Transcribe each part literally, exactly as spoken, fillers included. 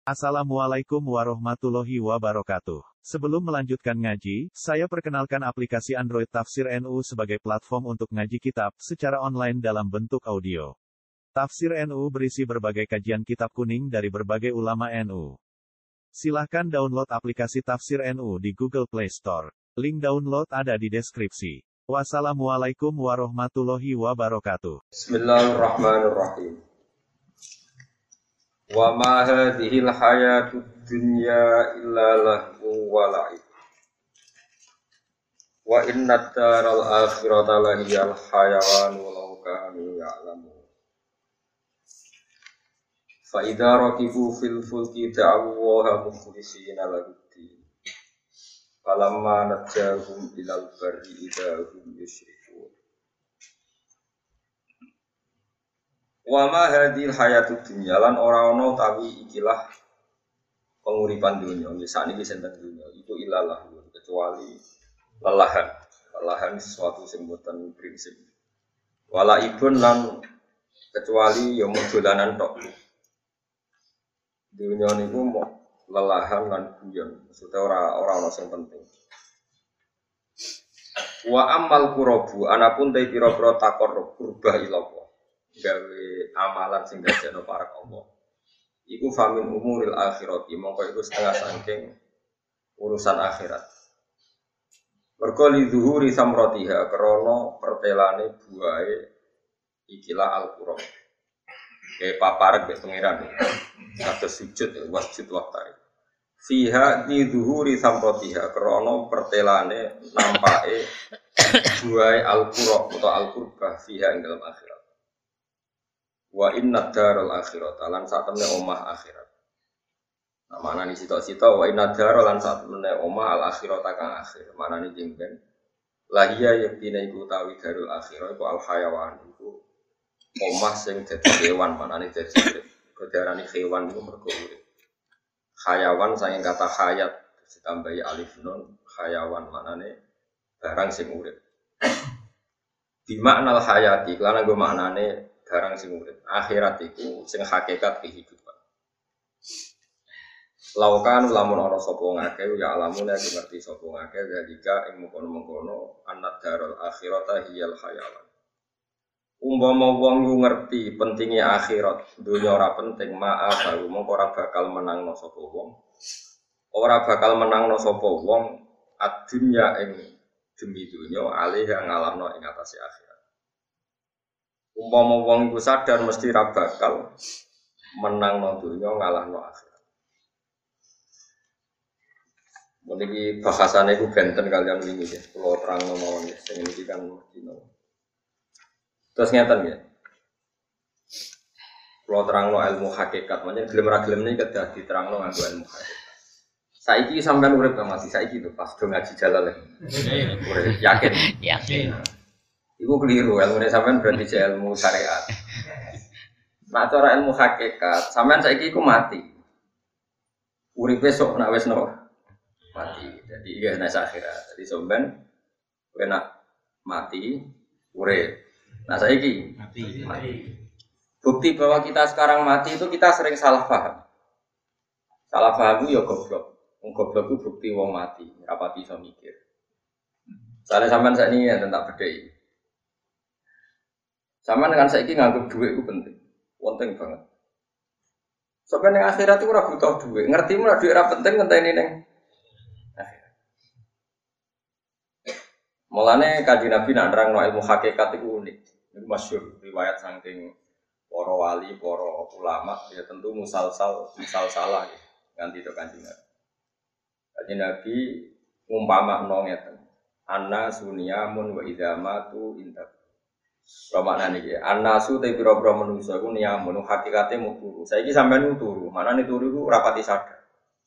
Assalamualaikum warahmatullahi wabarakatuh. Sebelum melanjutkan ngaji, saya perkenalkan aplikasi Android Tafsir N U sebagai platform untuk ngaji kitab secara online dalam bentuk audio. Tafsir N U berisi berbagai kajian kitab kuning dari berbagai ulama N U. Silahkan download aplikasi Tafsir N U di Google Play Store. Link download ada di deskripsi. Wassalamualaikum warahmatullahi wabarakatuh. Bismillahirrahmanirrahim. Wa ma hadhil hayatud dunya illa lahu wa la'ib. Wa inna daral akhirata lahiyal hayawan walau kanu ya'lamun. Fa idza rakibu fil fulki da'u Allaha mukhlishina lahu-d-din. Falamma najjahum ilal barri idza hum yusyrikun. Wa ma hadhil hayatud dunya lan ora ana utawi ikilah penguripan dunya nggih sakniki sinten dunya itu ilalah kecuali lelahan lelahan sesuatu sing boten prinsip wala ibun lan kecuali ya mung dolanan tok dunya niku mok lelahan lan guyon maksudnya ora ora ana sing penting wa amal qurabu anapun te pira-pira takor kurbah ilallah gawe amalan sing dadekno para Allah. Iku famin umuril akhirati, mongko iku setengah saking urusan akhirat. Mergo li zuhuri samratiha krana pertelane buahe ikilah al-Qur'an. Kayak paparek mek pangeran. Kados sujud wasjud waktari. Fiha di zuhuri samratiha krana pertelane nampake buahe al-Qur'an utawa al-Qurbah fiha ing dalam akhirat. Wa inna daral akhirat lan satemene omah akhirat. Nah, manane sita-sita wa inna daral lan satemene omah al akhirat kang akhir. Manane jengben. La iya yaktina iku tawi darul akhirat iku al hayawan iku omah sing dadi kewan manane dadi urip. Kedarane kewan iku mergo urip. Hayawan saking kata hayat ditambahi alif nun hayawan manane barang sing urip. Di makna al hayati lan nggo maknane barang sing urip akhirat iku sing hakikat kehidupan. Laukan lamun ana sapa ngake ya alamun nek ngerti sapa ngake dalika ing mengkono-mengkono annad darul akhirata hiyal hayawan. Umpama wong yo ngerti pentingnya akhirat, dunya ora penting, maaf baru mongko ora bakal menangno sapa wong. Ora bakal menangno sapa wong ad-dunya ing demi dunya alih ngalahno ing atase akhirat. Umpama wong iku sadar mesti ra bakal menangno dunya ngalahno akhirat. Meniki bahasane iku benten kalian wingi ya, kula terangno mawon ya, sing iki kan dino. Terus ngeten ya. Kula terangno ilmu hakikat, menyen gelem ra gelem niki kedah diterangno nganggo ilmu hakikat. Saiki sampean urip ta masih saiki lho pas do ngaji jalal. Urip yakin. Yakin. Iku keliru, ilmu sampean berarti ilmu syariat. Nah, cara ilmu hakikat, sampean saiki iku mati. Uripe sok nek wis no mati. Jadi iya nek akhirat. Jadi sampean kena mati, urip. Nah, saiki mati. mati. Bukti bahwa kita sekarang mati itu kita sering salah paham. Salah paham itu ya goblok. Wong goblok itu bukti wong mati, rapati iso mikir. Soale sampean sakniki ya tak bedheki. Sama dengan saiki nganggep duit itu penting, penting banget. Sampai neng akhirat itu ora butuh duit, ngerti mulai duit ora penting ngenteni neng akhirat. Mulane Kanjeng Nabi nak nerangno ilmu hakikat itu unik, itu masyhur riwayat saking para wali, para ulama, ya tentu musalsal, musalsalah ya, nganti to Kanjeng Nabi. Kanjeng Nabi ngumpamano ngeten, anna sunyamun wa idzamatu inta Romakna niki, an-nasu te pira-pira manungsa iku niyamun hakikate mu turu. Saiki sampean turu, manane turu iku rapati sadar.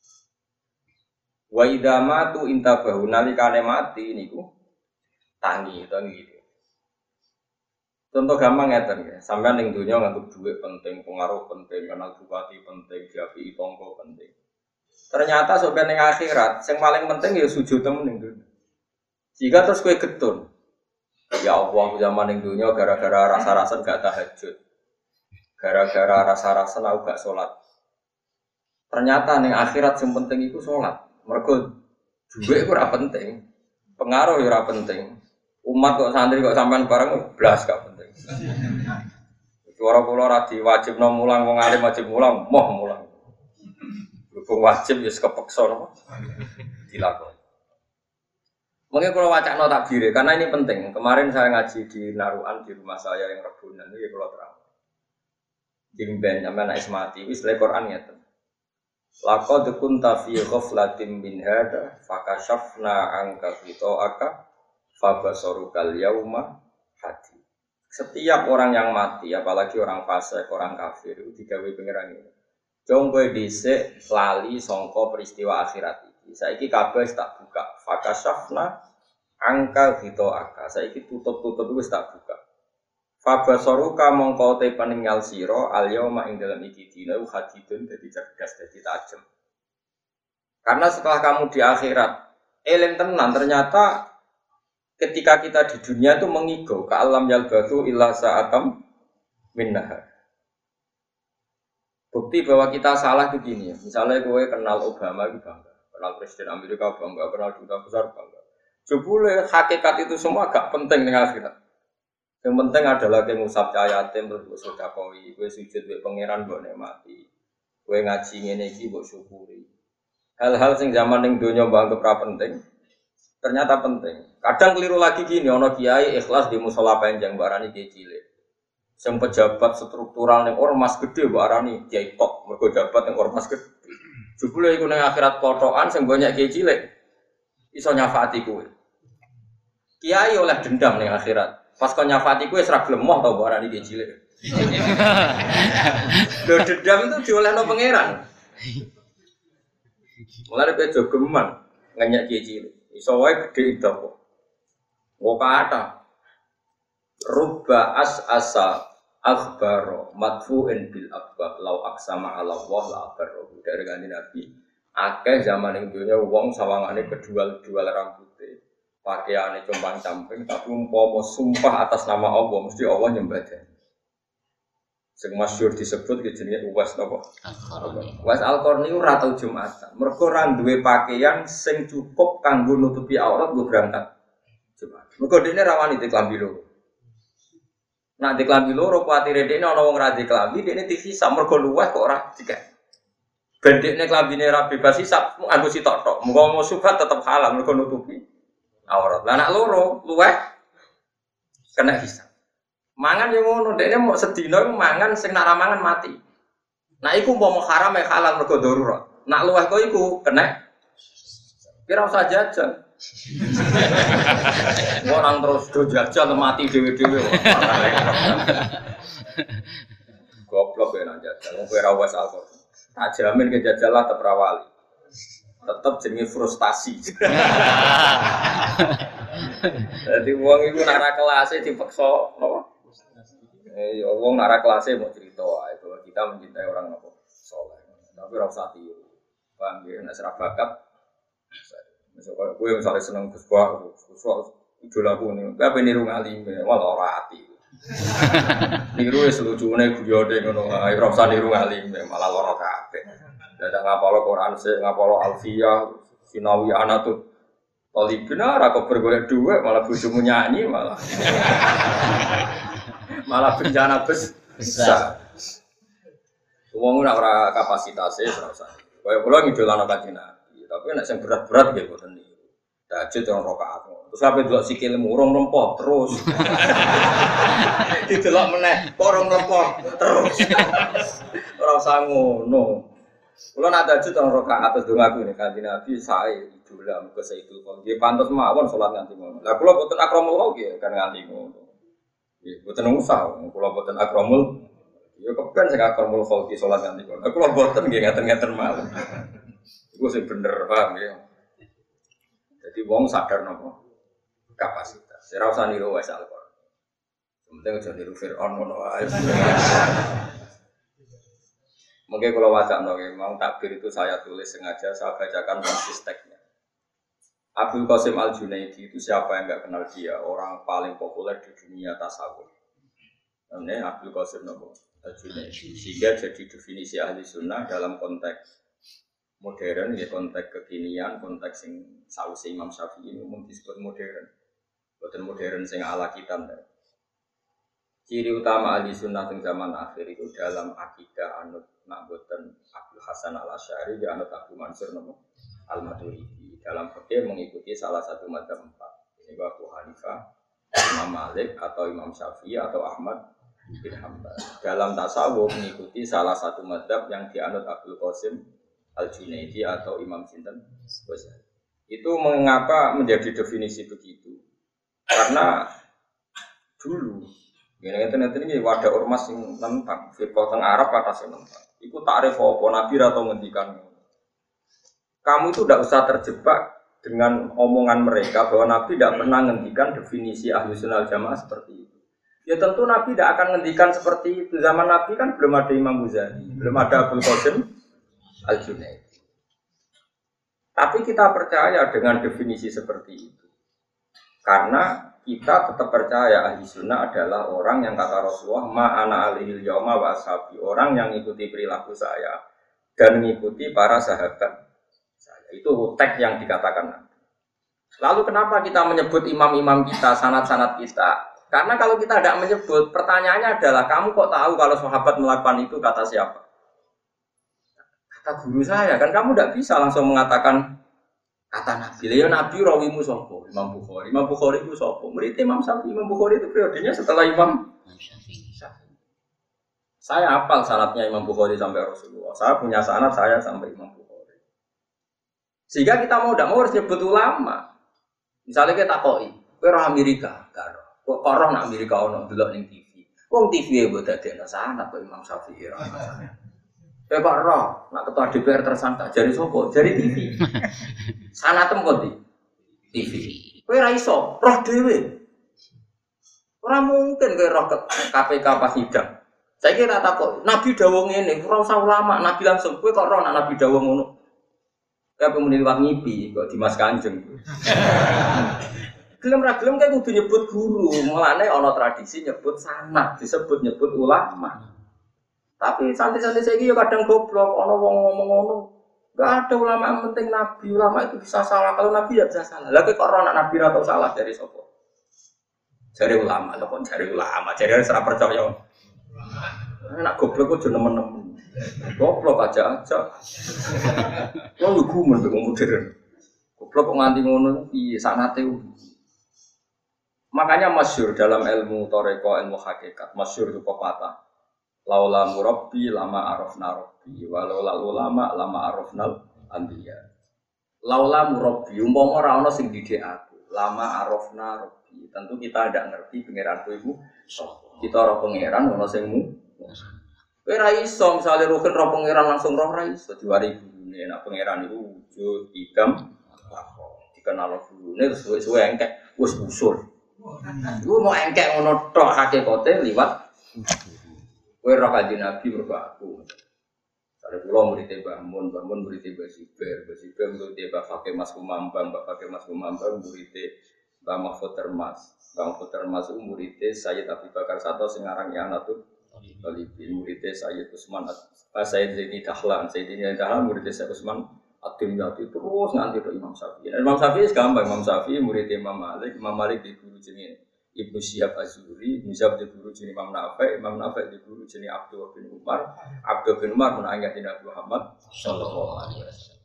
Wa idza matu intabahu nalikane mati niku tangi to niki. Contoh gampang ngeten ya, sampean ning donya nganggep dhuwit penting, pengaruh penting, kenal bupati penting, diapi tangga penting. Ternyata sampean ning akhirat sing paling penting ya sujud temen ning donya. Jika terus kowe getun ya Allah zaman ning dunya gara-gara rasa-rasa gak tahajud. Gara-gara rasa-rasa aku gak sholat. Ternyata ning akhirat sing penting iku salat. Mergo duit iku ora penting. Pengaruh ya ora penting. Umat kok santri kok sampean bareng blas gak penting. Suara kula ora diwajibno mulang wong alim wajib mulang, moh mulang. Berhubung wajib ya kepeksa napa dilakoni. Mungkin kalau wacana takbir karena ini penting. Kemarin saya ngaji di Naruan di rumah saya yang Rebunan ini kalau terang. Jimben sampean nek mati wis le Quran ngeten. Laqad kunta fi ghaflatin min hada fakashafna anka fitoaka fabasarukal yauma hadi. Setiap orang yang mati, apalagi orang fasik, orang kafir itu digawe pangeran ini. Jong kowe dhisik lali sangka peristiwa akhirat iki. Saiki kabeh tak buka. Fakashafna angka fitoaka. Saiki tutup-tutup wis tak buka. Fabasaruka mongko te peninggal sira al yauma ing dalam iki dina hadidun dadi cerdas dadi tajem. Karena setelah kamu di akhirat eling tenan ternyata ketika kita di dunia itu mengigau ke alam yalbathu illa sa'atam minnahar. Bukti bahwa kita salah itu gini ya. Misalnya kowe kenal Obama itu bangga, kenal Presiden Amerika bangga, kenal duta besar bangga. Jebule hakikat itu semua gak penting ning akhirat. Yang penting adalah kowe ngusap cayatem terus sedekah, kowe sujud mbek pangeran mbok nikmati. Kowe ngaji ngene iki mbok syukuri. Hal-hal sing zaman ning donya mbok anggap penting, ternyata penting. Kadang keliru lagi gini, ana kiai ikhlas di musala panjang mbok arani kiai cilik. Sing pejabat struktural ning ormas gede mbok arani kiai top, mergo jabat ning ormas gede. Jebule iku ning akhirat kotokan sing banyak kiai cilik iso nyafaati kowe. Kiai oleh dendam ning akhirat. Pas kau nyafati kowe ora gelem moh to mbok arani kiai cilik. Lho dendam itu diolehno pangeran. Mulane kowe jogeman ngenyek kiai cilik. Iso wae gedhe itu kok. Kok kata rubba as asa akhbaro madfu'in bil abwab law aksama ala Allah la abarro. Dari kanjeng Nabi akeh zaman ing dunya wong sawangane kedual-dual rambute. Pakaiane compang-camping tapi umpama sumpah atas nama Allah mesti Allah nyembah dia. Sing masyhur disebut jenenge Uwais napa? Al-Qarni. Uwais Al-Qarni ora tau Jumatan. Mergo ora duwe pakaian sing cukup kanggo nutupi aurat nggo berangkat Jumat. Mergo dene rawani di klambi loro. Nah di klambi loro kuwatire dene ana wong ra di klambi dene dihisab mergo luweh kok ora dikek. Bendekne klambine ra bebas hisab nganggo sitok tok. Muga mau subhat tetep halal mergo nutupi aurat. Lah anak loro luweh kena hisab. Mangan yo ngono, dekne mau sedina mangan sing nak mangan mati. Nah iku umpama haram ya halal mergo darurat. Nak luweh kok iku kena. Kira usah jajan. Orang terus do jajan mati dhewe-dhewe. Goblok ya nak jajan. Wong kowe ra wis alkohol. Tak jamin ke jajalah tetep rawali. Tetep jenenge frustasi. Dadi wong iku nak ra kelase dipeksa apa? Eh ya wong nak ra kelase mau cerita ae bahwa kita mencintai orang apa saleh. Tapi ora usah tiru. Paham ya nek ora bakat. Misalnya kowe misalnya seneng Gus Bah, Gus Bah idolaku niku. Tapi niru ngalim malah ora ati. Niru wis lucune guyone ngono ae ora usah niru ngalim malah lara kabeh. Dadak ngapalo Quran sik, ngapalo Alfiyah, Sinawi Anatut. Oli benar aku bergolek dhuwit malah bojomu nyanyi malah. Malah bencana besar. Wong ora ora kapasitasé ora usah. Kaya kula ngidolano Kanjeng Nabi, tapi nek sing berat-berat nggih boten niku. Tahajud rong rakaat. Terus sampe delok sikile murung lempot terus. Didelok meneh, kok rong lempot terus. Ora usah ngono. Kula nak tahajud rong rakaat terus dongaku nek Kanjeng Nabi sae idola muga saestu kok. Nggih pantes mawon salat nganti ngono. Lah kula boten akramul nggih kan nganti ngono. Nggih boten usah, kula boten akramul. Ya kepen sing akramul khalqi salat nganti ngono. Kula boten nggih ngaten-ngaten mawon. Iku sing bener paham ya. Jadi wong sadar napa kapasitas. Ora usah niru wis Al-Qur'an. Penting aja niru Firaun ngono wae. Mungkin kalau wacana memang takbir itu saya tulis sengaja saya bacakan konsisteknya. Abdul Qasim Al-Junaidi itu siapa yang enggak kenal dia, orang paling populer di dunia tasawuf. Namanya Abdul Qasim Al-Junaidi. Sehingga jadi definisi ahli sunnah dalam konteks modern ya konteks kekinian, konteks sing sausi Imam Syafi'i umum disebut modern. Boten modern sing ala kita. Ciri utama ahli sunnah di zaman akhir itu dalam akidah anut nak boten Abdul Hasan al-Asy'ari dan anut Abu Mansur al-Maturidi. Dalam fikih mengikuti salah satu madzhab empat. Ini Abu Hanifah, Imam Malik atau Imam Syafi'i atau Ahmad bin Hanbal. Dalam tasawuf mengikuti salah satu madzhab yang dianut Abdul Qasim al-Junaidi atau Imam Sinten Ghazali. Itu mengapa menjadi definisi begitu? Karena dulu ya nanti ini wadah ormas yang tentang fikih teng Arab atas yang tentang. Iku takrif apa Nabi atau ngendikan. Kamu itu tidak usah terjebak dengan omongan mereka bahwa Nabi tidak pernah ngendikan definisi ahlu sunnah jamaah seperti itu. Ya tentu Nabi tidak akan ngendikan seperti itu. Zaman Nabi kan belum ada Imam Ghazali, belum ada Abdul Qasim al-Junaidi. Tapi kita percaya dengan definisi seperti itu. Karena kita tetap percaya ahli sunnah adalah orang yang kata Rasulullah ma'ana alihil yawma wa ashabi, orang yang mengikuti perilaku saya dan mengikuti para sahabat saya. Itu teks yang dikatakan. Lalu kenapa kita menyebut imam-imam kita, sanad-sanad kita? Karena kalau kita tidak menyebut, pertanyaannya adalah kamu kok tahu kalau sahabat melakukan itu kata siapa? Kata guru saya, kan kamu tidak bisa langsung mengatakan kata Nabi. Ya Nabi rawimu sapa? Imam Bukhari. Imam Bukhari itu sapa? Murid Imam Syafi'i. Imam Bukhari itu periodenya setelah Imam Syafi'i. Saya hafal sanadnya Imam Bukhari sampai Rasulullah. Saya punya sanad saya sampai Imam Bukhari. Sehingga kita mau tidak mau harus nyebut ulama. Misalnya kita takoi, kowe roh Amerika, karo. Kok roh nak Amerika ono delok ning T V. Wong T V e mbok dadekno sanad kok Imam Syafi'i. Eh Pak Roh, nak ketua D P R tersangka, jari sopo, jari T V. Sanatem kok di T V. Kowe ra iso, roh dhewe. Ora mungkin kowe roh K P K pas sidang. Saiki tak takok, Nabi dawuh ngene, ora usah ulama, Nabi langsung kowe kok roh nak Nabi dawuh ngono. Kayak pemuni liwat ngipi kok Dimas Kanjeng. Gelem ra gelem kae kudu nyebut guru, mulane ana tradisi nyebut sanad, disebut nyebut ulama. Tapi santai-santai saya yo kadang goblok, ono wong ngomong ngono. Enggak ada ulama yang penting Nabi, ulama itu bisa salah. Kalau Nabi ya bisa salah. Lah kok ora anak Nabi atau salah dari sapa? Dari ulama, lho kok dari ulama, dari ora percaya. Anak goblok kok nemen-nemen. Goblok aja aja. Wong lugu men wong modern. Goblok kok nganti ngono piye sanate. Makanya masyhur dalam ilmu thariqah, ilmu hakikat, masyhur itu pepatah. Laula murabbi lama arafna rabbi walau lal ulama lama arafnal anbiya. Laula murabbi umpama ora ana sing didik aku, lama arafna rabbi. Tentu kita ndak ngerti pangeranku iku sapa. Kita ora pangeran ana sing mu. Kowe ra iso misale rugen ora pangeran langsung roh ra iso diwari gurune. Nek pangeran iku wujud idam apa dikenal gurune terus suwe-suwe engkek wis usul. Iku mau engkek ngono tok hakikate liwat kowe roh kanjeng Nabi mergo aku. Sare kula murid Mbah Mun, Mbah Mun murid Mbah Siber, Mbah Siber murid Mbah Fakih Mas Kumambang, Mbah Fakih Mas Kumambang murid Mbah Mahfud Termas. Mbah Mahfud Termas itu murid Sayyid Abu Bakar Sato sing aran Yanatul Talibin, murid Sayyid Utsman, Sayyid Zaini Dahlan, Sayyid Zaini Dahlan murid Sayyid Utsman Ad-Dimyati terus nganti ke Imam Syafi'i. Imam Syafi'i gampang, Imam Syafi'i murid Imam Malik, Imam Malik di guru jenenge Ibnu Syihab Az-Zuhri, Syihab di guru jenis Imam Nafi', Imam Nafi' di guru jenis Abdul bin Umar, Abdul bin Umar menanggati Nabi Muhammad sallallahu alaihi wasallam.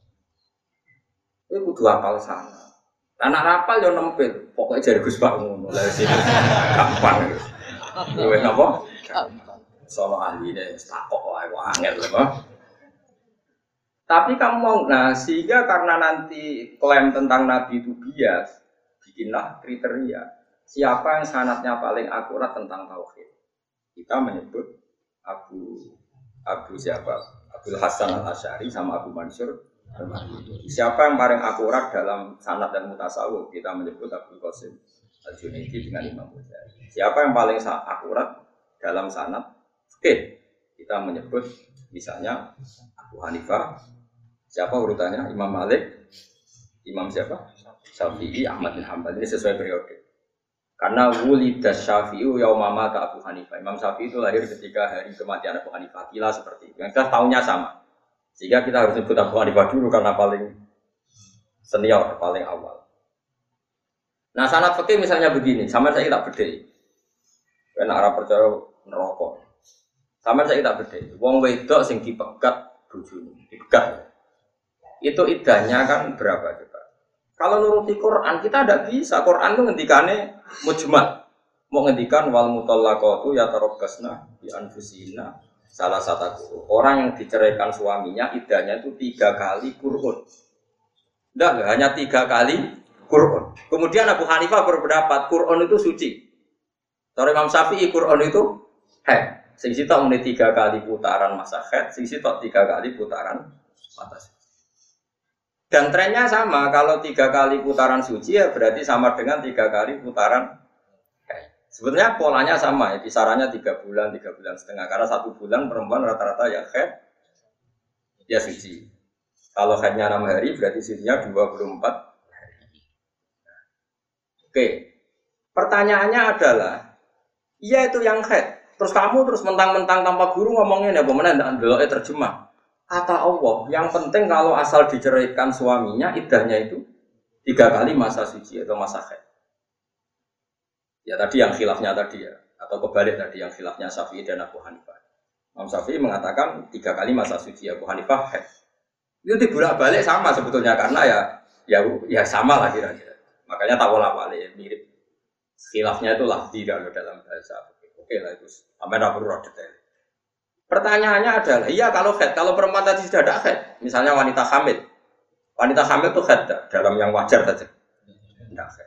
Itu kudu hafal sana. Anak hafal yo nempel, pokoknya jare Gus Pak ngono. Lah sini gampang. Luwih napa? Sono ahline takok wae angel lho. Tapi kamu mau, nah sehingga karena nanti klaim tentang Nabi itu bias, bikinlah kriteria. Siapa yang sanadnya paling akurat tentang tauhid? Kita menyebut Abu Abu siapa? Abdul Hasan al-Asy'ari sama Abu Mansur. Siapa yang paling akurat dalam sanad dan mutasawuf? Kita menyebut Abdul Qasim al-Junaidi dengan Imam Ghazali. Siapa yang paling akurat dalam sanad? Oke, kita menyebut misalnya Abu Hanifah. Siapa urutannya? Imam Malik, Imam siapa? Syafi'i, Ahmad bin Hanbal. Ini sesuai periode. Karena wulida Syafi'i yauma mata Abu Hanifah. Imam Syafi'i itu lahir ketika hari kematian Abu Hanifah. Kila seperti itu. Yang kita tahunya sama. Sehingga kita harus sebut Abu Hanifah dulu karena paling senior, paling awal. Nah sanad fikih misalnya begini, sama saya tak bedai. Karena Arab percaya neraka. Sama saya tak bedai. Wong wedok sing dipegat bojone, dipegat. Itu idahnya kan berapa coba? Kalau nuruti Quran kita tidak bisa. Quran itu ngendikane mujmal. Mau ngendikan wal mutallaqatu yatarabbasna bi anfusihinna salah satu orang yang diceraikan suaminya idahnya itu tiga kali Qur'an. Tidak, hanya tiga kali Qur'an. Kemudian Abu Hanifah berpendapat Qur'an itu suci. Kalau Imam Syafi'i Qur'an itu haid. Sing sitok muni tiga kali putaran masa haid, sing sitok tiga kali putaran mata suci. Dan trennya sama, kalau tiga kali putaran suci ya berarti sama dengan tiga kali putaran haid. Sebetulnya polanya sama ya, kisarannya tiga bulan, tiga bulan setengah. Karena satu bulan perempuan rata-rata ya haid, ya suci. Kalau haidnya enam hari berarti sucinya dua puluh empat hari. Oke, pertanyaannya adalah, iya itu yang haid. Terus kamu terus mentang-mentang tanpa guru ngomongin ya, bagaimana tidak beloknya terjemah. Kata Allah, yang penting kalau asal diceraikan suaminya, idahnya itu tiga kali masa suci atau masa haid. Ya tadi yang khilafnya tadi ya, atau kebalik tadi yang khilafnya Syafi'i dan Abu Hanifah. Imam Syafi'i mengatakan tiga kali masa suci, Abu Hanifah haid. Itu dibolak-balik sama sebetulnya karena ya ya ya sama lah kira-kira. Makanya tawala-wali mirip. Khilafnya itu lafzi kalau dalam bahasa. Oke lah itu. Sampai tidak perlu detail. Pertanyaannya adalah, iya kalau haid, kalau perempuan tadi sudah ada haid, misalnya wanita hamil, wanita hamil itu haid dalam yang wajar saja, tidak haid.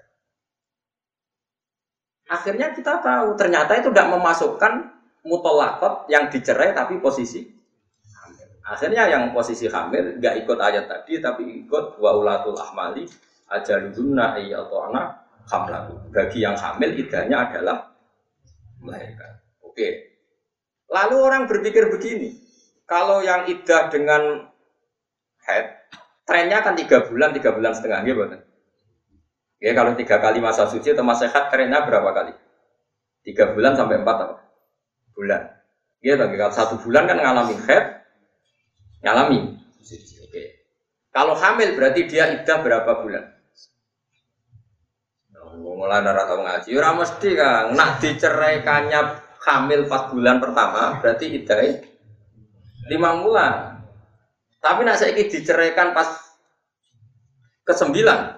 Akhirnya kita tahu ternyata itu tidak memasukkan mutolakot yang dicerai tapi posisi hamil. Akhirnya yang posisi hamil nggak ikut ayat tadi tapi ikut wa ulatul ahmali ajaludunna ayyatuna hamlahu. Bagi yang hamil idahnya adalah melahirkan. Oke. Lalu orang berpikir begini, kalau yang idah dengan haid, trennya kan tiga bulan, tiga bulan setengah, gitu. Ya kalau tiga kali masa suci atau masa haid, trennya berapa kali? Tiga bulan sampai empat apa? Bulan. Ya bagi kalau satu bulan kan ngalami haid, ngalami. Oke. Kalau hamil berarti dia idah berapa bulan? Mulai dari tahu ngaji, ora mesti Kang. Nak diceraikannya hamil empat bulan pertama berarti idahnya lima bulan. Tapi nak saiki diceraikan pas ke sembilan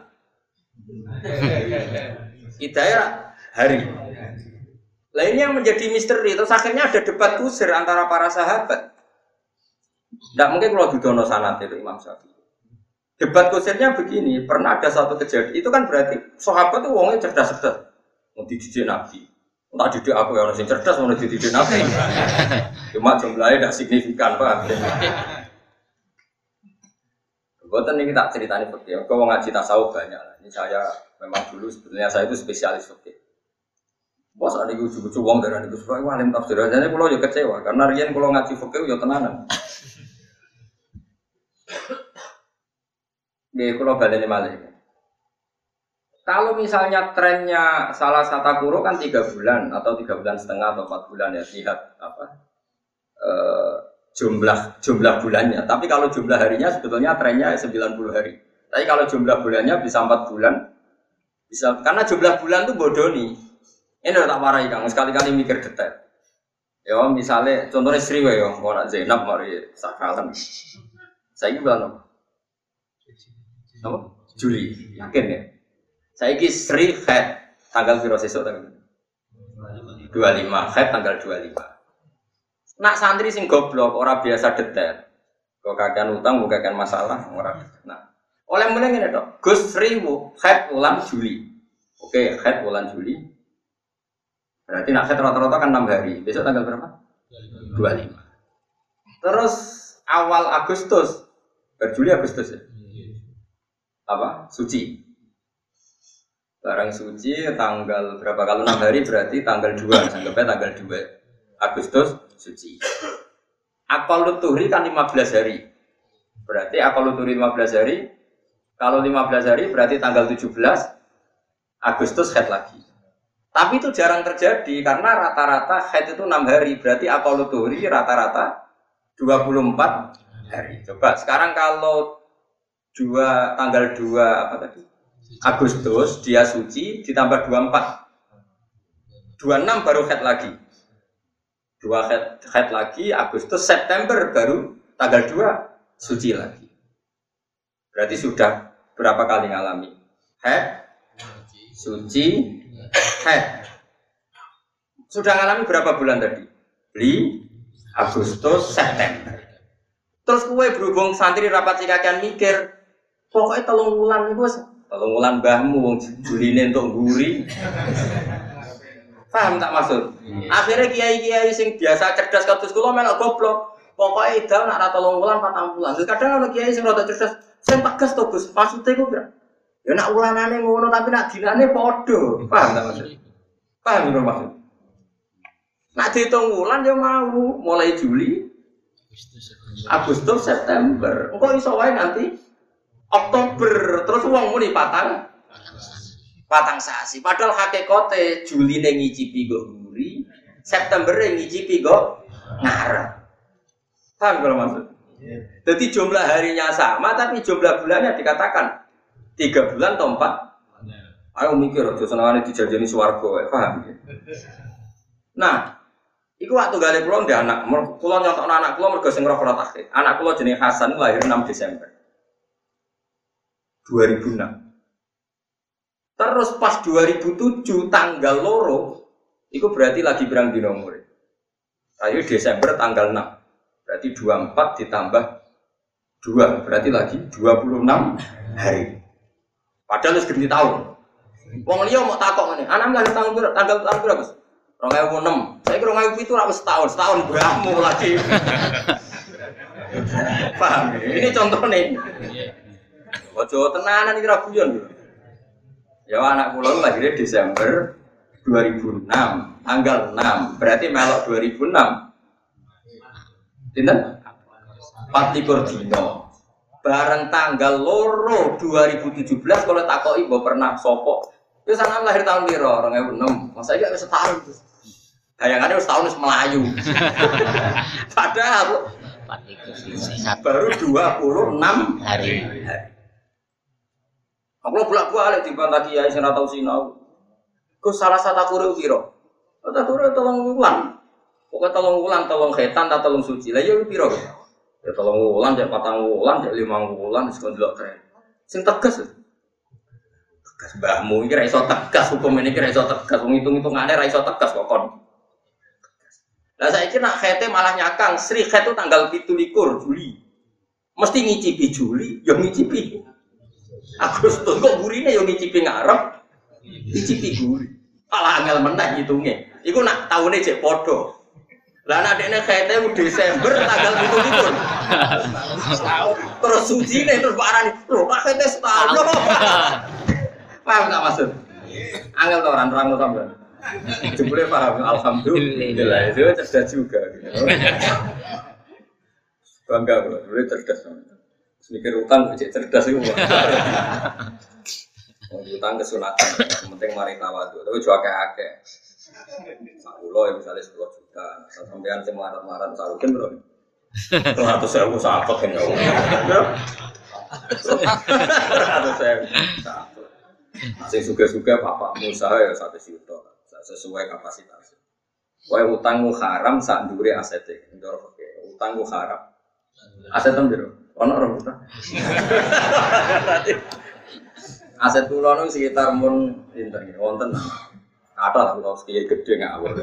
idahnya hari. Lah ini yang menjadi misteri. Terus akhirnya ada debat kusir antara para sahabat. Tidak mungkin kalau didono sanad itu Imam Syafi'i. Debat kusirnya begini, pernah ada satu kejadian. Itu kan berarti sahabat itu wongnya cerdas-cerdas. Mau dididik Nabi. Tak didik aku yang orang cerdas, mau dididik Nabi. Cuma jumlahnya tidak signifikan, Pak. Buatan ini tak ceritanya fakir. Kau ngaji tasawuf banyak. Ini saya memang dulu sebenarnya saya itu spesialis fakir. Bos ada gue cucu uang dari itu supaya alim tafsir. Jadi kalau juga kecewa karena rian kalau ngaji fakir ya tenanan. Dia kalau balik malah. Kalau misalnya trennya salah satu guru kan tiga bulan atau tiga bulan setengah atau empat bulan ya lihat apa e, jumlah jumlah bulannya. Tapi kalau jumlah harinya sebetulnya trennya sembilan puluh hari. Tapi kalau jumlah bulannya bisa empat bulan, bisa karena jumlah bulan tuh bodoh nih. Ini udah tak marahi Kang, sekali-kali mikir detail. Ya misalnya contohnya Sri ya, mau nak Zainab mari sakalan. Saya ini bulan apa? Apa? Juli, yakin ya? Saya ini Sri haid tanggal piro sesuk tanggal dua puluh lima, haid tanggal dua puluh lima. Nak santri sing goblok ora biasa detail. Kok kakean utang bukan kakean masalah ora. Nah, oleh mulai ngene tok. Gus Sri haid bulan Juli. Oke, haid bulan Juli. Berarti nak haid rata-rata kan enam hari. Besok tanggal berapa? dua puluh lima. Terus awal Agustus, berjuli Agustus ya? Apa? Suci. Barang suci tanggal berapa? Kalau enam hari berarti tanggal dua, anggapnya tanggal dua Agustus suci. Akal tuhri kan lima belas hari. Berarti akal tuhri lima belas hari. Kalau lima belas hari berarti tanggal tujuh belas Agustus haid lagi. Tapi itu jarang terjadi karena rata-rata haid itu enam hari. Berarti akal tuhri rata-rata dua puluh empat hari. Coba sekarang kalau dua tanggal dua apa tadi? Agustus dia suci ditambah dua puluh empat. dua puluh enam baru head lagi. Dua head, head lagi Agustus September baru tanggal dua suci lagi. Berarti sudah berapa kali ngalami? Head, suci, head. Sudah ngalami berapa bulan tadi? Li, Agustus, September. Terus kue berhubung santri rapat sikakan mikir, pokoknya telung wulan nih bos, telung wulan mbahmu, Juline untuk guri. Paham tak maksud? Akhirnya kiai-kiai sing biasa cerdas kados kula melok goblok. Pokoknya ida nak ra telung wulan patang wulan. Terus kadang ana kiai sing rada cerdas, sing tegas to Gus, maksude ku kira. Ya nak wulanane ngono tapi nak dinane padha. Paham tak maksud? Paham lho maksud? Nak dihitung wulan ya mau mulai Juli, Agustus, September. Engko iso wae nanti Oktober terus wong muni patang patang sasi. Padahal hakikate Juli ne ngicipi go guri, September ne ngicipi go ngarep. Paham kalau maksud? Jadi jumlah harinya sama tapi jumlah bulannya dikatakan tiga bulan atau empat. Ayo mikir aja senengane dijajani swarga, paham ya? Nah, iku waktu gale kula ndek anak, kula nyontokno anak kula mergo sing roh kula takhir. Anak kula jenenge Hasan lahir enam Desember dua ribu enam. Terus pas dua ribu tujuh tanggal loro, itu berarti lagi berang dino umur. Ayo Desember tanggal enam. Berarti dua puluh empat ditambah dua, berarti lagi dua puluh enam hari. Padahal wis ganti tahun. Wong liya mau takok ngene, anak lahir tahun berapa? Tanggal tahun berapa, Bos? dua ribu enam. Saya kira dua ribu tujuh ra wis setahun, setahun mbahmu lagi. Paham? Ini contohnya. Ojo tenanan iki ra guyon lho. Ya anak kula lahirnya Desember dua ribu enam, tanggal enam. Berarti melok dua ribu enam. Pinten? empat likur dino. Bareng tanggal loro dua ribu tujuh belas kalau takoki mbok pernah sapa? Wis sampean lahir tahun piro? dua ribu enam. Masa iki wis setahun. Bayangane wis tahun wis melayu. Padahal baru dua puluh enam hari. Aku bolak-balik dibantah kiai sing ora tau sinau. Ku salah satu kure piro? Tak kure tolong wulan. Pokoke tolong wulan, tolong khetan ta tolong suci. Lah ya piro? Ya tolong wulan, cek patang wulan, cek limang wulan wis ndelok tren. Sing tegas. Tegas mbahmu iki ra iso tegas, hukum ini iki ra iso tegas, wong hitung-hitungane ra iso tegas kok kon. Lah saiki nak khete malah nyakang, Sri khet itu tanggal pitu likur Juli. Mesti ngicipi Juli, ya ngicipi Agustus kok gurine yo ngicipi ngarep, ngicipi guri. Alah angel meneh ngitunge. Iku nak taune cek padha. Lah nek dekne khete Desember tanggal pitu likur. Terus sucine terus barani, lho kok khete setahun. Paham tak maksud? Angel to ora nerangno sampean. Jebule paham, alhamdulillah. Itu cerdas juga. Bangga bro, boleh cerdas. Mikir utang cek cerdas itu. Mau utang kesunatan, penting mari tawadhu. Tapi juga akeh-akeh. Sakulo ya misalnya sepuluh juta, sampean sing marat-marat sarukin bro. Seratus ribu sakit kan ya. Seratus ribu sakit. Sing suga-suga bapakmu usaha ya satu juta, sesuai kapasitas. Wae utangmu haram sak ndure asete. Ndoro oke, utangmu haram. Aset ndoro. Ono ora utang. Aset kula nu sekitar mun pinten nggih wonten. Ada lah kula kiai gedhe ngawur.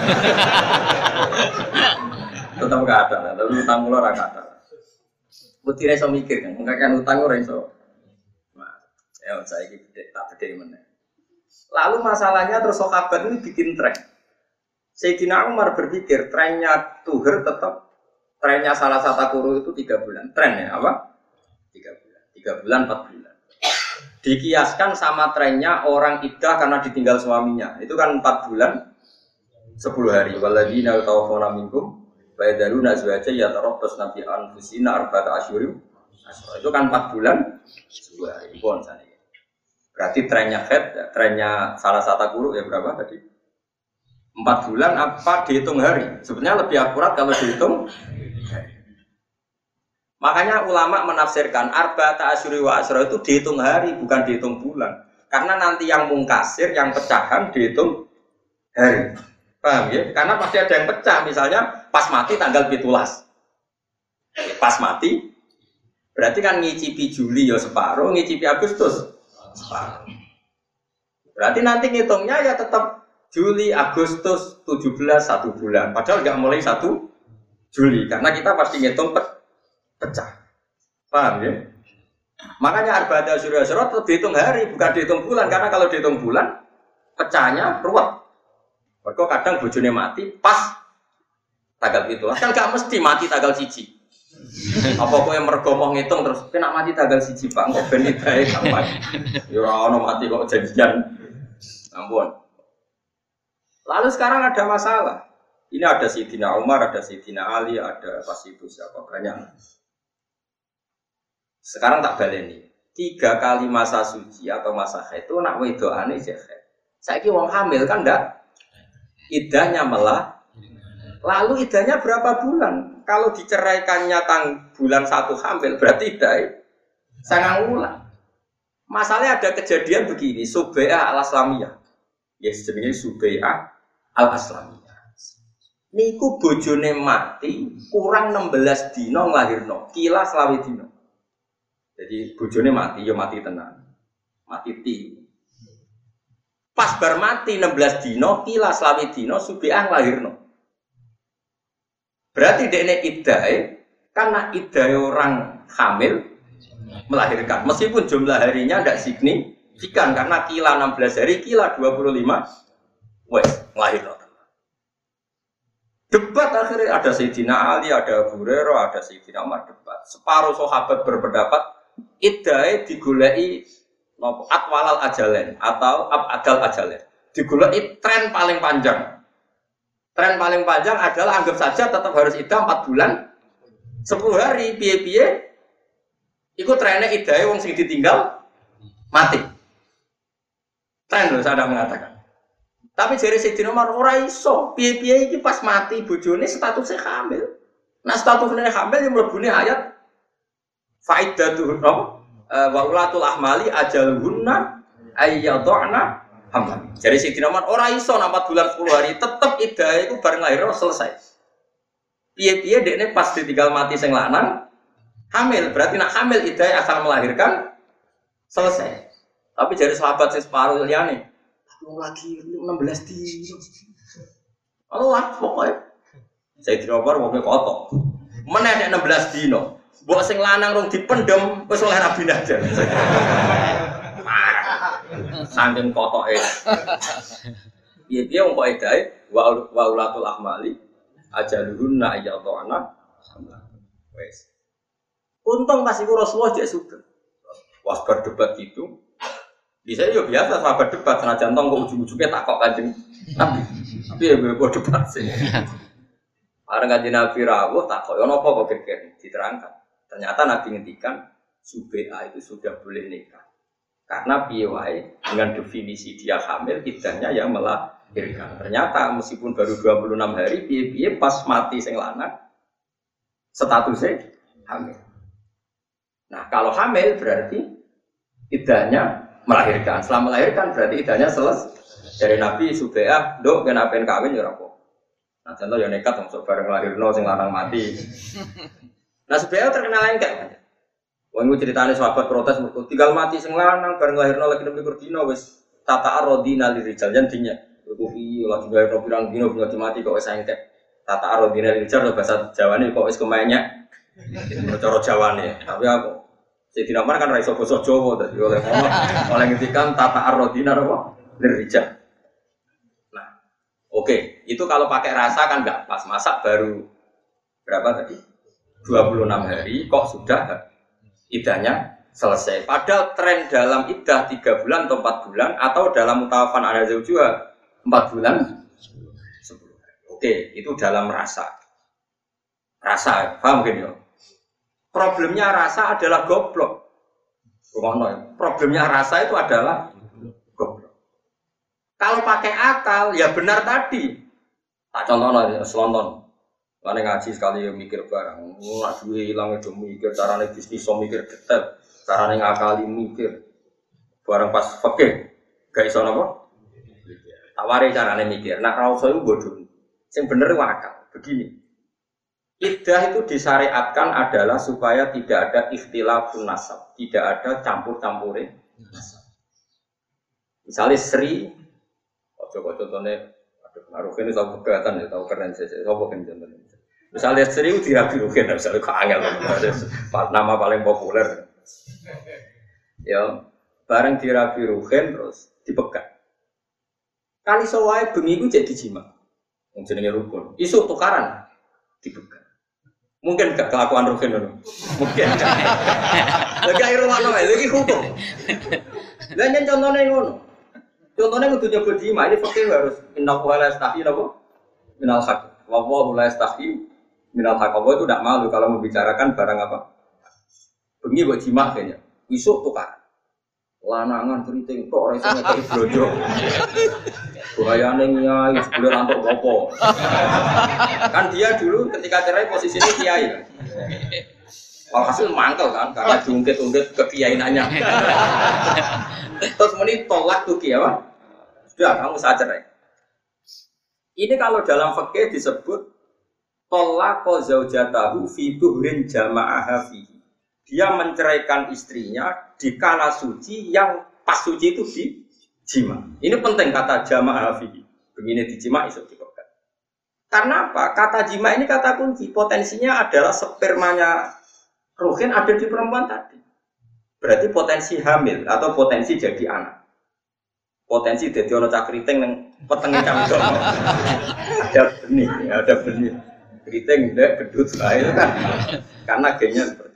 Tetep gak ada, tapi utang kula ora ada. Putire iso mikir kan, mengkakan utang ora iso. Nah, ya saiki gede tak gede meneh. Lalu masalahnya terus sahabat ini bikin tren. Sayyidina Umar berpikir trennya Tuher tetap trennya salah satu guru itu tiga bulan. Tren ya apa? Tiga bulan, tiga bulan, empat bulan. Dikiaskan sama trennya orang iddah karena ditinggal suaminya. Itu kan empat bulan, sepuluh hari. Waladina tawafona minkum, baydaruna azwaja yatarabbas nabi anfusina arba'ata asyurim. Itu kan empat bulan, sepuluh hari. Pon sana. Berarti trennya head, trennya salah satu guru ya berapa tadi? Empat bulan apa dihitung hari? Sebenarnya lebih akurat kalau dihitung. Makanya ulama menafsirkan arba'ata asyuri wa asyra itu dihitung hari, bukan dihitung bulan. Karena nanti yang mungkasir, yang pecahan dihitung hari. Paham ya? Karena pasti ada yang pecah, misalnya pas mati tanggal pitulas. Pas mati, berarti kan ngicipi Juli ya separuh, ngicipi Agustus separuh. Berarti nanti ngitungnya ya tetap Juli, Agustus, tujuh belas, satu bulan. Padahal nggak mulai satu Juli, karena kita pasti ngitung pe pecah. Paham ya? Makanya arba'ata asyura asyra tetap dihitung hari, bukan dihitung bulan. Karena kalau dihitung bulan, pecahnya ruwet. Mereka kadang bojone mati pas tanggal itu. Kan nggak mesti mati tanggal siji. Apa kowe mergo mau ngitung terus kena mati tanggal siji Pak, kok ben idae gampang. Ya ora ono mati kok janjian. Ampun. Lalu sekarang ada masalah. Ini ada Sayyidina Umar, ada Sayyidina Ali, ada pas itu siapa banyak. Sekarang tak baleni. Tiga kali masa suci atau masa haid itu nak wedokane sik haid. Saiki wong hamil kan ndak idahnya malah. Lalu idahnya berapa bulan? Kalau diceraikannya tang bulan satu hamil berarti idah sangang bulan. Masalahnya ada kejadian begini, Subai'ah al-Aslamiyah. Ya jenenge Subai'ah al-Aslamiyah. Niku bojone mati kurang enam belas dina nglahirno, kila selawe dina. Jadi bojone mati ya mati tenan. Mati ti. Pas bar mati enam belas dina, kila selawe dina Subai'ah nglahirno. Berarti dekne iddahe karena iddahe orang hamil melahirkan. Meskipun jumlah harinya tidak signifikan karena kila enam belas hari, kila dua puluh lima wes nglahirno. Debat akhirnya ada Sayyidina Ali, ada Abu Hurairah, ada Sayyidina Umar debat. Separuh sahabat berpendapat iddahe digoleki napa atwalal ajalen atau abadal ajalen. Digoleki tren paling panjang. Tren paling panjang adalah anggap saja tetap harus iddah empat bulan sepuluh hari piye-piye. Iku trennya iddahe wong sing ditinggal mati. Tren lho saya mengatakan. Tapi jare Sayyidina Umar ora iso, piye-piye iki pas mati bojone statusnya hamil. Nah statusnya hamil yang mlebune ayat faidatuhun wa ulatul ahmali ajaluhunna ayyadhna hamlan. Jadi Sayyidina Umar ora iso empat bulan sepuluh hari tetep iddahe iku bareng lahir selesai. Piye-piye dekne pas ditinggal mati sing lanang hamil, berarti nak hamil iddahe asal melahirkan selesai. Tapi jadi sahabat sing separuh liyane aku lagi enam belas dino. Allah pokoknya. Sayyidina Umar wong kotok. Meneh nek enam belas dino. Mbok sing lanang rung dipendhem wis oleh rabi aja. Saking kotoke. Piye-piye wong kok edae wa ulatul ahmali ajaluhunna ayyadhana hamla. Wes. Untung pas iku Rasulullah jek sugih. Was berdebat gitu. Bisa yo biasa sahabat debat senajan tong kok ujung-ujungnya takok Kanjeng Nabi. Tapi ya gue debat sih. Bareng Kanjeng Nabi rawuh takok yo napa kok geger diterangkan. Ternyata Nabi ngendikan Subai'ah itu sudah boleh nikah. Karena piye wae dengan definisi dia hamil iddahnya yang melahirkan. Ternyata meskipun baru dua puluh enam hari piye-piye pas mati sing lanang statusnya hamil. Nah, kalau hamil berarti iddahnya melahirkan. Setelah melahirkan berarti iddahnya selesai. Dari Nabi Subai'ah, "Nduk kenapa kawin ya ora apa." Nah, contoh ya nekat wong bareng lahirno sing lanang mati. Nah, Subai'ah terkenal enggak? Wong iku critane sahabat protes mergo tinggal mati sing lanang bareng lahirno lagi nembe dina wis tata arodina lirijal jan dinya. Iku piye lagi lahirno pirang dina bingung mati kok wis entek. Tata arodina lirijal bahasa Jawane kok wis kemenyek. Cara Jawane. Tapi aku Sayyidina Umar kan ra iso basa Jawa dadi oleh ngomong oleh ngendikan tata arodina apa lirijal. Nah, oke, okay. Itu kalau pakai rasa kan enggak pas masak baru berapa tadi? dua puluh enam hari kok sudah iddahnya selesai. Padahal tren dalam iddah tiga bulan atau empat bulan atau dalam mutawafan ala zaujuha empat bulan sepuluh hari. Oke, itu dalam rasa. Rasa, paham kan ya? Problemnya rasa adalah goblok. Problemnya rasa itu adalah goblok. Kalau pakai akal ya benar tadi. Tak contohnya selonton. Lane ngaji sekali yo mikir barang. Ora duwe ilang do mikir carane bisnis iso mikir detail, carane ngakali mikir. Barang pas fikih gak iso napa? Tawari carane mikir. Nak ra iso iku bodho. Sing bener wakal. Begini. Iddah itu disyariatkan adalah supaya tidak ada ikhtilafun nasab, tidak ada campur-campure nasab. Misalnya Sri, coba contohnya, aduh, Ruhin itu tahu kegatan ya, tahu keren saja. Coba kan contohnya. Misalnya Sri itu dirabi Ruhin, misalnya kok angel, nama paling populer. Ya, bareng dirabi Ruhin terus dipegat. Kali sewai bengi itu jadi jima, yang jenenge rukun. Isu tukaran dipegat. Mungkin gak kelakuan Ruhin dulu. Mungkin. Lagi air rumah noe, lagi hukum. Lainnya contohnya ngono. Contohnya kudu nyebut jima, ini fakir harus innahu la yastahi napa? Minal haq. Wa huwa la yastahi minal haq. Itu tidak malu kalau membicarakan barang apa? Bengi buat jima kayaknya. Isuk tukar. Lanangan keriting tok ora iso ngekeki blojo. Bahayane nyai sebelum antuk opo. Kan dia dulu ketika cerai posisinya kiai kan. Walhasil mangkel kan karena diungkit-ungkit kekiainannya. Terus muni tolak tuh kiai apa? Sudah kamu saja cerai. Ini kalau dalam fikih disebut tolak zaujatahu fi duhrin jama'aha fihi. Dia menceraikan istrinya di kala suci yang pas suci itu di jima. Ini penting kata jamaah fihi. Begini di jima iso dipegat. Karena apa? Kata jima ini kata kunci. Potensinya adalah spermanya Ruhin ada di perempuan tadi. Berarti potensi hamil atau potensi jadi anak. Potensi jadi ono cakriting yang petengnya camdok. Ada benih, ada benih. Keriting ndak gedut itu kan. Karena gennya seperti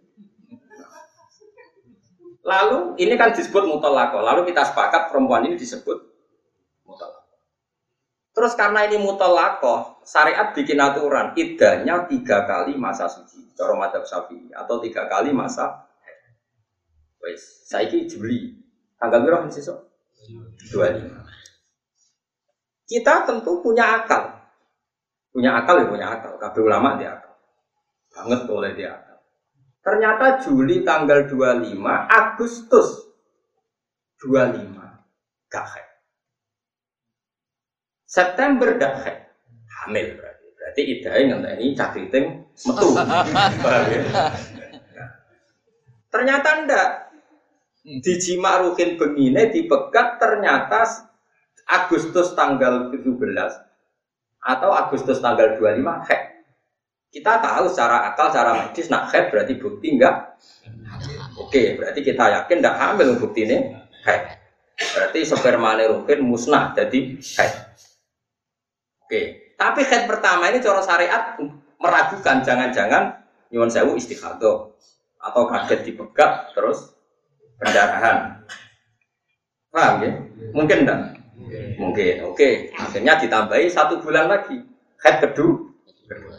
lalu ini kan disebut mutolako. Lalu kita sepakat perempuan ini disebut mutolako. Terus karena ini mutolako, syariat bikin aturan iddahnya tiga kali masa suci. Cara madzhab Syafi'i atau tiga kali masa. Wes, saiki Juli. Tanggal berapa sesuk? dua puluh lima. Kita tentu punya akal. Punya akal ya punya akal. Kabeh ulama dia akal. Banget oleh dia akal. Ternyata Juli tanggal dua puluh lima, Agustus dua puluh lima gak haid. September gak haid. Hamil berarti. Berarti idahnya ngenteni cakriting metu. Ternyata ndak. Di jima Ruhin begini dipegat ternyata Agustus tanggal tujuh belas atau Agustus tanggal dua puluh lima haid. Kita tahu secara akal, secara medis nak haid berarti bukti enggak. Oke, berarti kita yakin enggak hamil bukti ini haid. Berarti spermane Ruhin musnah jadi haid. Oke, tapi haid pertama ini cara syariat meragukan jangan-jangan nyuwun sewu istikhadah atau kaget dipegat terus pendarahan. Paham ya? Mungkin enggak? Mungkin. Oke, akhirnya ditambahi satu bulan lagi haid kedua. kedua.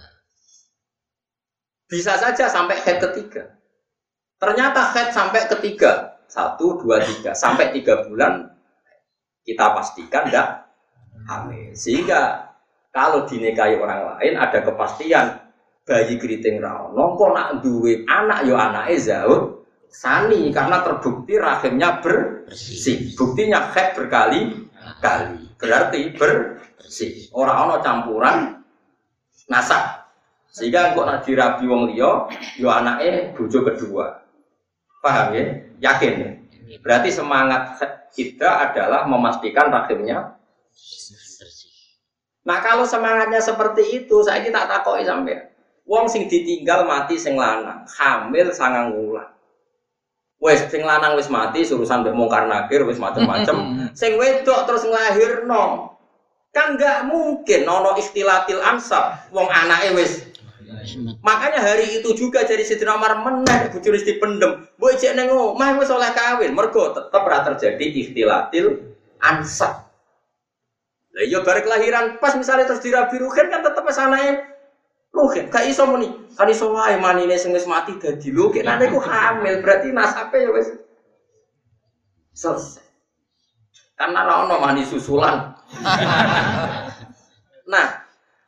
Bisa saja sampai head ketiga. Ternyata head sampai ketiga. Satu, dua, tiga. Sampai tiga bulan kita pastikan tidak hamil. Sehingga kalau dinikahi orang lain ada kepastian bayi keriting rawono kok nak duwe anak yo anake zaud sani karena terbukti rahimnya bersih. Buktinya head berkali-kali. Berarti bersih. Ora ana campuran nasab. Sehingga kok nak dirabi wong liya, yo anake bojo kedua. Paham ya? Yakin ya? Berarti semangat kita adalah memastikan rahimnya bersih. Nah, kalau semangatnya seperti itu, saya tak takoki sampean. Wong sing ditinggal mati sing lanang, hamil sangang wulan. Wes sing lanang wis mati, urusan mbek mungkar nakir wis macem-macem. Sing wedok terus nglahirno. Kan enggak mungkin ono ikhtilatil ansab, wong anake wis. Makanya hari itu juga jadi Sidina Umar meneh bojone dipendem. Mbok ijek ning omah wis oleh kawin, mergo tetep ora terjadi ikhtilatil ansab. Lah iya bareng kelahiran pas misalnya terus dirabi Ruhin kan tetep wis anake Ruhin. Gak iso muni, kan iso wae manine sing wis mati dadi lho, nek anake ku hamil berarti nasabe ya wis selesai. Karena ora ono mani susulan. Nah,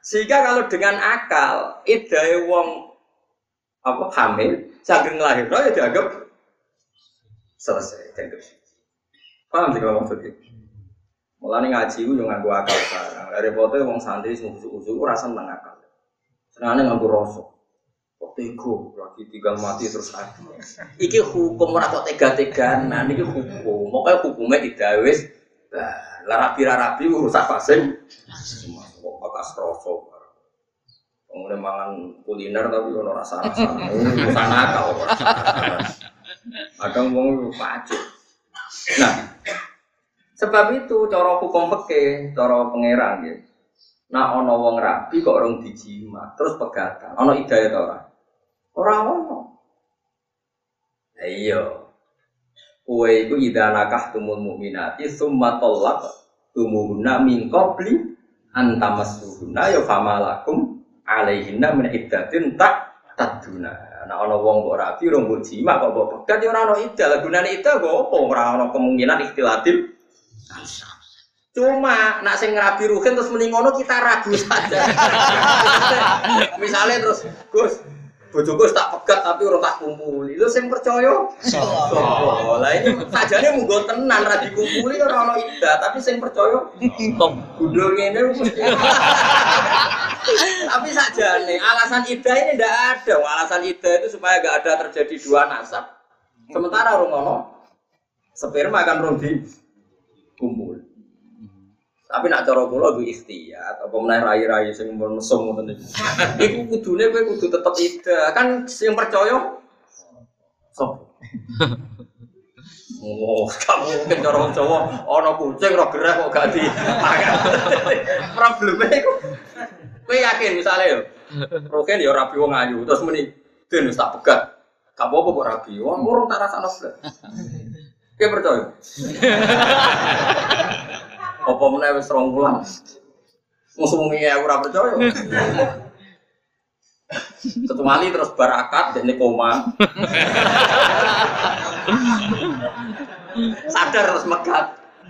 Sehingga kalau dengan akal, iddahe wong apa hamil, saking lahir ya dianggap selesai dianggap. Paham sih kalau maksudnya? Mulane ngaji ku yo nganggo akal barang. Lah repote wong santri sing usuk-usuk ora seneng akal. Senengane nganggo rasa. Kok tego lagi tinggal mati terus ada. Iki hukum ora kok tega-teganan, iki hukum. Pokoke hukume tidak wis lah rapi-rapi urusan pasing. Kok bekas rasa. Wong mangan kuliner tapi ono rasa-rasane. Urusan akal kok. Kadang wong pacet. Nah, sebab itu cara hukum fikih, cara pangeran nggih. Nah ana wong rabi kok orang dijima, terus pegatan. Ana hidayah ta ora? Ora ono. Lah iya. Kowe iku idza nakahtumul mukminati tsumma talaq tumuhunna min qabli an tamassuhunna ya famalakum alaihinna min iddatin tak taduna. Nah ana wong kok rabi rong mbok jima kok mbok pegat ya ora ono iddah. Lah gunane iddah kok apa ora ono kemungkinan ikhtilatil. Cuma nak sing ngerabi ruhin terus mending ngono kita ragu saja. Misalnya terus Gus, bojoku tak pegat tapi ora tak kumpuli. Lho sing percaya? Sopo? Lah ini sajane munggo tenan ra dikumpuli ora ono ida, tapi sing percaya tok gundul ngene mesti. Tapi sajane alasan ida ini ndak ada. Alasan ida itu supaya enggak ada terjadi dua nasab. Sementara ora ono sperma kan rong di kumpul. Tapi nak cara kula ku ikhtiyat apa meneh rai-rai sing mesum ngoten niku. Iku kudune kowe kudu tetep ida. Kan sing percaya sop. Oh, kamu mungkin cara Jawa ana kucing ora gerah kok gak di. Probleme iku. Kowe yakin misale yo. Roken yo rabi wong ayu terus muni den wis tak pegat. Gak apa-apa kok rabi. Wong urung tak rasakno blas. Kowe percaya? Apa meneh wis rong wulan. Musuh-musuhe aku ora percaya. Kecuali terus barakat dene koma. Sadar terus megat.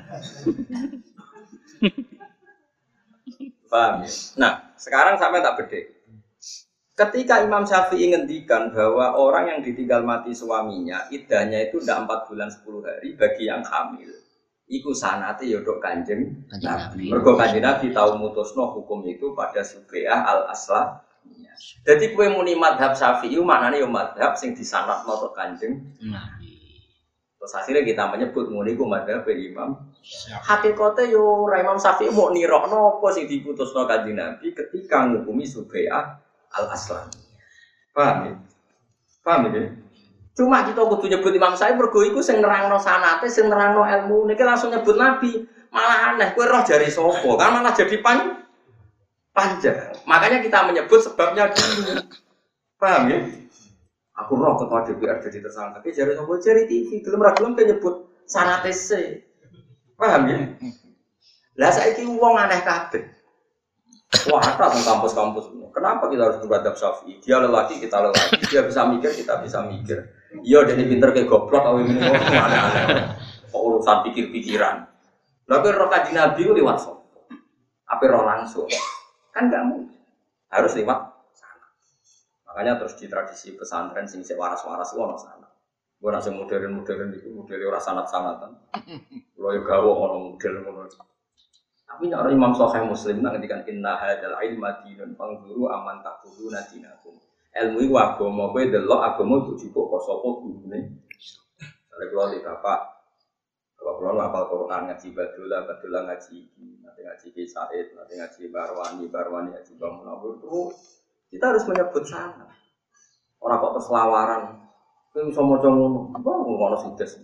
Paham ya? Nah, sekarang sampai tak bedek. Ketika Imam Syafi'i ngendikan bahwa orang yang ditinggal mati suaminya, iddahnya itu ndak empat bulan sepuluh hari bagi yang hamil. Iku sanate ya dok Kanjeng Nabi. Mergo Kanjeng Nabi tau mutusno hukum itu pada Subeah al-Aslah. Jadi kowe muni mazhab Syafi'i maknane ya mazhab sing disanadno tok Kanjeng Nabi. Terus akhirnya kita menyebut muni ku mazhab Imam Syafi'i. Hakikate yo ora Imam Syafi'i mau nirokno apa sing diputusno Kanjeng Nabi ketika ngukumi Subeah al-Aslah. Paham ya? Paham ya? Cuma kita kudu nyebut Imam Syafi'i mergo iku sing nerangno sanate, sing nerangno ilmu. Niki langsung nyebut Nabi. Malah aneh, kowe roh jari sapa? Kan malah jadi pan panjang. Makanya kita menyebut sebabnya dulu. Paham ya? Aku roh ketua D P R jadi tersangka. Ki jari sapa? Jari T V. Gelem ra gelem nyebut sanate se. Paham ya? Lah saiki wong aneh kabeh. Wah, ada di kampus-kampus ini. Kenapa kita harus beradab Syafi'i? Dia lelaki, kita lelaki. Dia bisa mikir, kita bisa mikir. Iya, dia pinter kayak goblok. Kalau ini mana-mana. Kok urusan pikir-pikiran. Tapi roh kaji Nabi itu lewat sopo. Apa roh langsung? Kan nggak mungkin. Harus lewat sana. Makanya terus di tradisi pesantren sing sik waras-waras itu ono sana. Gue nasi modern-modern itu model ora sanat-sanatan. Lo yo gawe ono model ngono. Tapi nek Imam Sahih Muslim nang ngendikan inna hadzal ilma dinun fangzuru aman taquluna dinakum. Ilmu iku agama, kowe delok agama kudu dipok sapa gurune. Sale kula di bapak. Bapak kula apal Quran ngaji badula, badula ngaji iki, nanti ngaji Ki Said, nanti ngaji Barwani, Barwani ngaji Bang Munawwir. Terus kita harus menyebut sana. Ora kok terus lawaran. Kowe iso maca ngono, apa ngono sing des.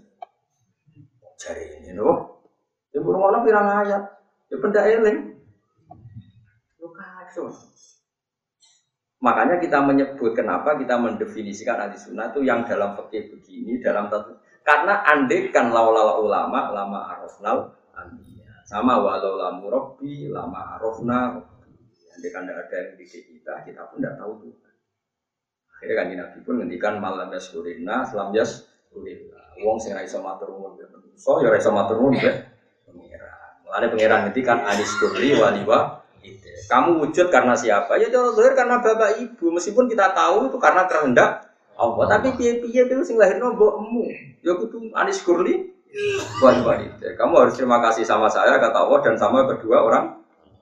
Jare ini lho. Ibu ngono pirang ayat. Ya benda eling. Lu kacau. Makanya kita menyebut kenapa kita mendefinisikan ahli sunnah itu yang dalam fikih begini, dalam tentu. Karena andekan laulala ulama, lama arafnal anbiya. Sama walau lamu rabbi, lama arafna. Andekan tidak ada yang dididik kita, kita pun tidak tahu itu. Akhirnya kan Nabi pun ngendikan malam yaskurina, selam yaskurina. Wong sing ra iso matur nuwun ya manusa, ya ra iso matur nuwun ya. Ada pangeran ngerti kan adis kurri waliwa Kamu wujud karena siapa? Ya cara zahir karena bapak ibu. Meskipun kita tahu itu karena kehendak Allah. Tapi piye-piye itu sing lahirno mbokmu. Ya kudu anis kurli. Buat wanita. Kamu harus terima kasih sama saya kata Allah dan sama kedua orang.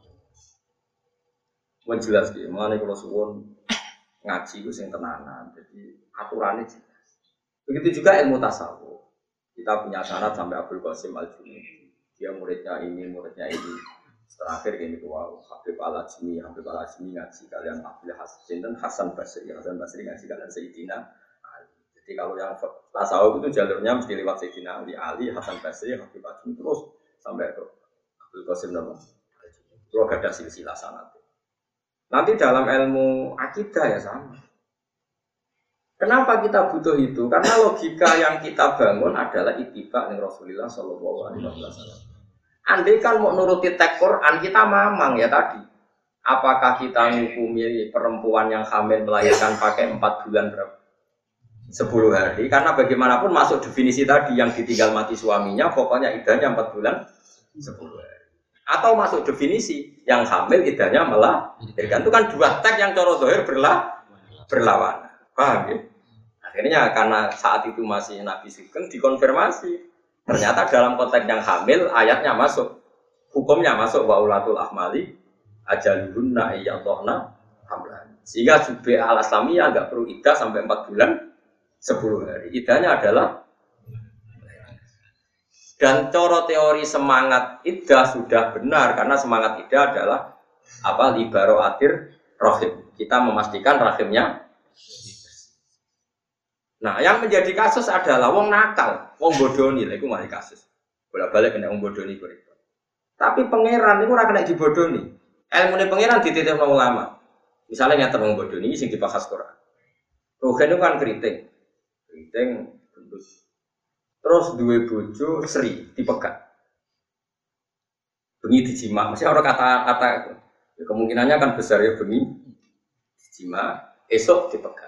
Mau jelas gitu. Mana kalau suwon ngaji itu sing tenanan. Jadi aturannya jelas. Begitu juga ilmu tasawuf. Kita punya sanad sampai Abdul Qasim Al-Junaidi. Dia muridnya ini, muridnya ini. Terakhir gini wow, Habib Al-Ajmi, Habib Al-Ajmi ngaji kalian Abdul Hasan dan Hasan Basri, Hasan Basri ngaji kalian Sayyidina Ali. Jadi kalau yang tasawuf itu jalurnya mesti lewat Sayyidina Ali, Ali, Hasan Basri, Habib Al-Ajmi terus sampai ke Abdul Qasim nama. Terus ada silsilah sanad. Nanti dalam ilmu akidah ya sama. Kenapa kita butuh itu? Karena logika yang kita bangun adalah ittiba dengan Rasulullah Shallallahu Alaihi Wasallam. Andai kan mau nuruti teks Quran kita mamang ya tadi. Apakah kita menghukumi perempuan yang hamil melahirkan pakai empat bulan berapa? sepuluh hari. Karena bagaimanapun masuk definisi tadi yang ditinggal mati suaminya, pokoknya idahnya empat bulan sepuluh hari. Atau masuk definisi yang hamil idahnya melahirkan. Itu kan dua teks yang coro zahir berlah berlawanan. Paham ya? Akhirnya karena saat itu masih Nabi Sugeng dikonfirmasi. Ternyata dalam konteks yang hamil ayatnya masuk. Hukumnya masuk wa ulatul ahmali ajaluhunna ayyadhna hamlan. Sehingga Jubi al-Islamiyah enggak perlu iddah sampai empat bulan sepuluh hari. Iddahnya adalah dan coro teori semangat iddah sudah benar karena semangat iddah adalah apa libaro atir rahim. Kita memastikan rahimnya. Nah, yang menjadi kasus adalah wong nakal, wong bodoni, lha iku mari kasus. Bolak-balik kena wong bodoni kok. Tapi pangeran niku ora kena dibodoni. Ilmune pangeran dititipno ulama. Misalnya nyata wong bodoni sing dibahas Quran. Rogen itu kan keriting. Keriting gendut. Terus duwe bojo Sri dipegat. Bengi dijima, mesti ora kata-kata itu. Ya, kemungkinannya kan besar ya bengi dijima, esok dipegat.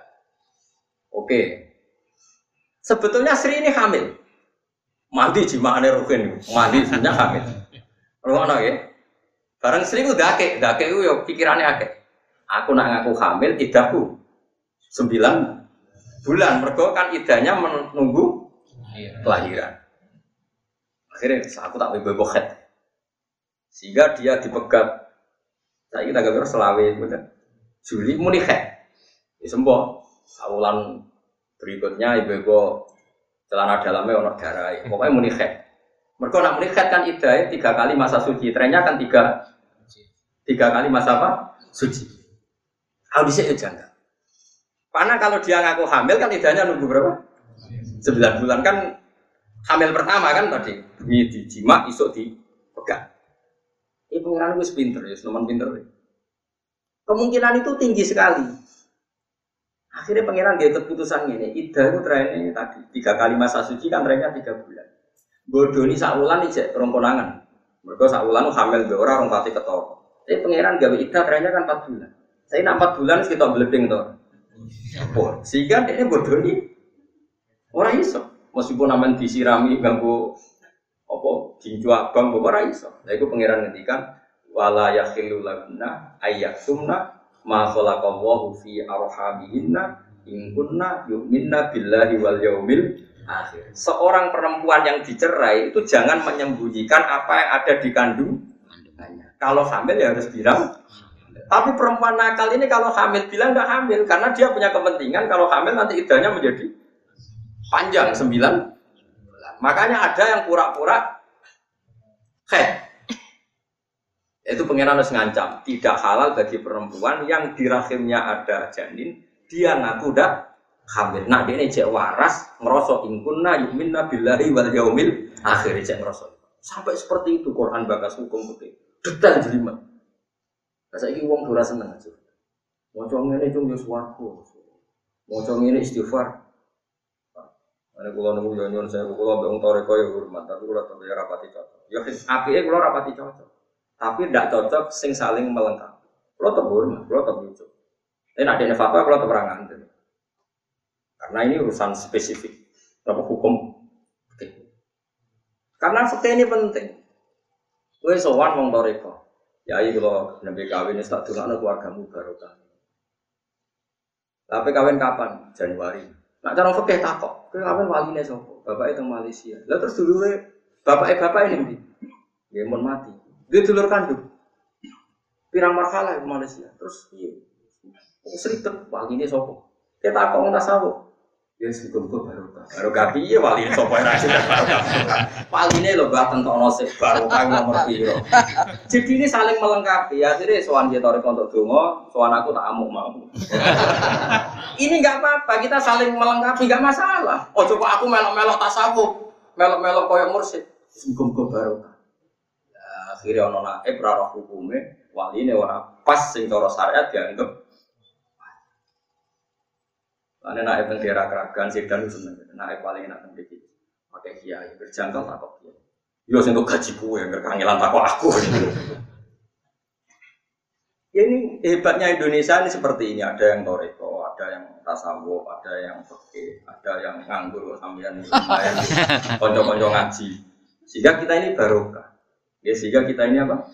Oke. Sebetulnya Sri ini hamil. Mandi jimaane Rogen, mandi sebenarnya hamil. Ngono ya. Bareng Sri ku dake, dake ku yo pikirane akeh. Aku nak ngaku hamil idahku sembilan bulan. Mergo kan idahnya menunggu kelahiran. Akhirnya aku tak bebokhet. Sehingga dia dipegat. Saya kita gak selawe bener. Juli muni khet. Ya sembuh. Saulan berikutnya ibu-ibu celana dalamnya ono darah. Pokoknya muni khet. Mereka nak muni khet kan idahnya tiga kali masa suci. Trennya kan tiga tiga kali masa apa? Suci. Audisi itu jangka. Karena kalau dia ngaku hamil kan idahnya nunggu berapa? sembilan bulan kan hamil pertama kan tadi. Ini dijima, isuk dipegang. Ini pengiran gue pinter ya, senuman pinter ya. Kemungkinan itu tinggi sekali. Akhirnya pangeran dia keputusan ini, iddah itu trennya tadi tiga kali masa suci kan trennya tiga bulan. Bodoni saulan ijek rongkonangan. Mereka saulan hamil be ora rong pati ketoro. Tapi pangeran gawe iddah trennya kan empat bulan. Saya nak empat bulan kita beleding to. Oh, sehingga ini bodoni ora iso. Meskipun aman disirami ganggu apa jinju abang ora iso. Lah iku pangeran ngendikan wala yakhillu laguna ayyatumna ma khalaqallahu fi arhamihinna in kunna yu'minna billahi wal yaumil akhir. Seorang perempuan yang dicerai itu jangan menyembunyikan apa yang ada di kandungannya. Kalau hamil ya harus bilang. Tapi perempuan nakal ini kalau hamil bilang enggak hamil karena dia punya kepentingan kalau hamil nanti iddahnya menjadi panjang sembilan bulan. Makanya ada yang pura-pura khed. Itu pangeran harus ngancam, tidak halal bagi perempuan yang di rahimnya ada janin, dia ngaku dah hamil. Nah, dia ini cek waras, ngerosok ingkunna yu'minna billahi wal yaumil akhir cek ngerosok. Sampai seperti itu Quran bakas hukum putih. Detail jelimet. Nah, saiki wong ora seneng aja. Maca ngene cung yo swarga. Maca ngene istighfar. Ana kula nunggu yo nyuwun saya kula mbek wong toreko yo hormat, tapi kula tetep ya rapati cocok. Ya apike kula rapati cocok. Tapi tidak cocok sing saling melengkapi. Kalau terbur, kalau terbujuk. Tapi nak ada fatwa kalau terangan. Karena ini urusan spesifik, berapa hukum. Oke. Karena fakta ini penting. Gue sowan wong toreko. Ya iki kalau nabi kawin wis tak dongakno keluargamu barokah. Tapi kawin kapan? Januari. Nak cara fikih takok, kowe kawin waline sapa? Bapake teng Malaysia. Lah terus dulure bapake bapak ini ndi? Nggih mun mati. Dia dulur kandung. Pirang marhalah ke Malaysia. Terus piye? Seribet waline sapa? Kita takok ntas sawuk. Ya muga-muga barokah. Barokah piye waline sapa ora sing barokah. Waline lho Mbah tentokno sik barokah nomor piro. Jadi ini saling melengkapi. Akhirnya sowan dia tarik untuk donga, sowan aku tak amuk mau. Ini enggak apa-apa, kita saling melengkapi, enggak masalah. Oh coba aku melok-melok tasawuf, melok-melok koyo mursyid. Muga-muga barokah. Ya akhirnya ono naib ra roh hukume, waline ora pas sing cara syariat dianggap. Ane naik teng daerah Kragan Sedan seneng. Naik paling enak teng iki. Pakai kiai berjangkau tak kok. Yo sing kok gaji kuwe kangelan tak kok aku. Ya ini hebatnya Indonesia ini seperti ini, ada yang toreko, ada yang tasawuf, ada yang fikih, ada yang nganggur sampeyan lumayan. Kanca-kanca ngaji. Sehingga kita ini barokah. Ya sehingga kita ini apa?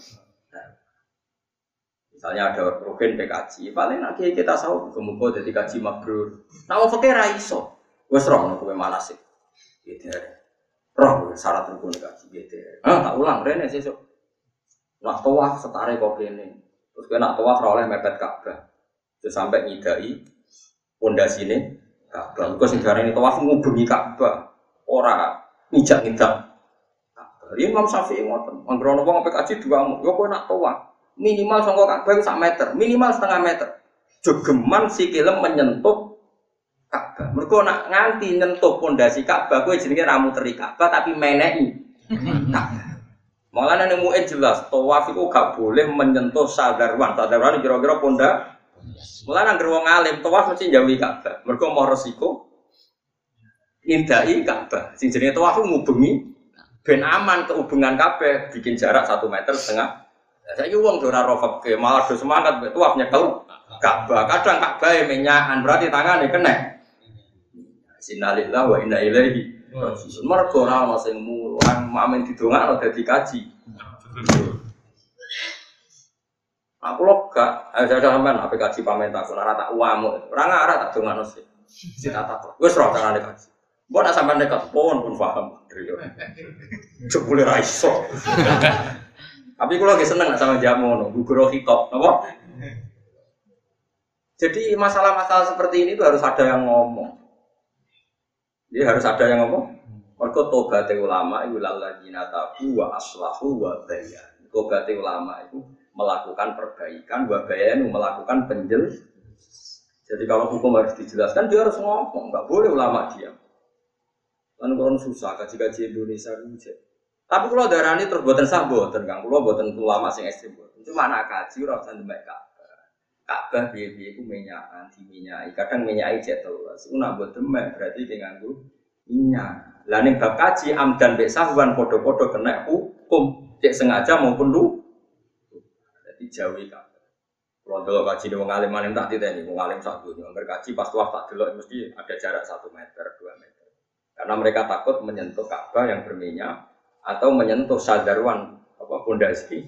Misalnya ada rukun P K J, paling nanti kita tahu muga-muga dadi kaji mabrur. Nah, wong fakir ra iso. Wis roh nek kowe manasik. Gitu. Roh syarat rukun kaji gitu. Ah, tak ulang rene sesuk. Nak tawaf setare kok kene. Terus kowe nak tawaf ora oleh mepet Ka'bah. Terus sampai nyidai pondasine Ka'bah. Engko sing darane tawaf ngubengi Ka'bah. Ora ngijak-ngijak Ka'bah. Imam Syafi'i ngoten. Anggere ana wong P K J dua mu, yo kowe nak tawaf minimal sangka Ka'bah itu sak meter, minimal setengah meter. Jogeman sikile menyentuh Ka'bah. Mergo nak nganti nyentuh pondasi Ka'bah kowe jenenge ra muteri Ka'bah tapi meneki. Ka'bah. Mulane ning mu'in jelas, tawaf iku gak boleh menyentuh sadarwan. Sadarwan kira-kira pondak. Mulane anggere wong alim tawaf mesti njauhi Ka'bah. Mergo mau resiko ngindai Ka'bah. Sing jenenge tawaf ngubengi ben aman kehubungan Ka'bah bikin jarak satu meter setengah. Saya uang dora rofak ke malah do semangat betul nyekel Ka'bah. Kadang Ka'bah menyakan berarti tangannya kena. Innalillahi wa inna ilaihi raji'un. Mergo ora ana sing mulang mamen didongakno dadi kaji. Aku lho gak ada sampean apa kaji pamit aku ora tak uamu. Ora ngarah tak dongakno sih. Sing tak takok. Wis ora carane kaji. Mbok nak sampean nekat pun pun paham. Jebule ra iso. Tapi kalau lagi seneng sama jamu, gugur hitop, apa? Jadi masalah-masalah seperti ini itu harus ada yang ngomong. Jadi harus ada yang ngomong. Mergo tobat ulama itu lalladzina tabu wa aslahu wa bayan. Tobat ulama itu melakukan perbaikan, wa bayanu melakukan penjel. Jadi kalau hukum harus dijelaskan, dia harus ngomong, nggak boleh ulama diam. Kan orang susah kaji-kaji Indonesia itu. Tapi kalau darah ini terus buatan sah buatan kang, kalau buatan ulama sing ekstrim buatan. Cuma anak kaji orang usah demek Ka'bah. Ka'bah biaya-biaya itu minyakan, diminyai. Kadang minyai jatuh. Una buat demek berarti dengan itu minyak. Lain bab kaji amdan bek sahwan podo-podo kena hukum cek sengaja maupun lu. Jadi jauhi Ka'bah. Kalau dulu kaji ni mengalim alim tak tidak ni mengalim satu. Angger kaji pas tuah tak dulu mesti ada jarak satu meter dua meter. Karena mereka takut menyentuh Ka'bah yang berminyak. Atau menyentuh sadarwan apa pondasi.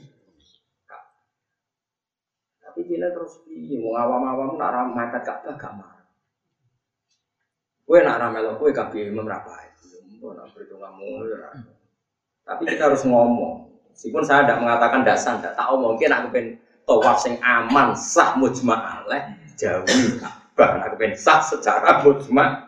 Tapi kita terus piye wong awam-awam nak ra mepet Ka'bah gak marah. Kowe nak ra melok kowe kabeh imam ra bae. Mbok nak perhitunganmu ora. Tapi kita harus ngomong. Meskipun saya tidak mengatakan dasar, tidak tahu mungkin aku pengen tawaf sing aman sah mujma' alaih jauhi Ka'bah. Aku pengen sah secara mujma'.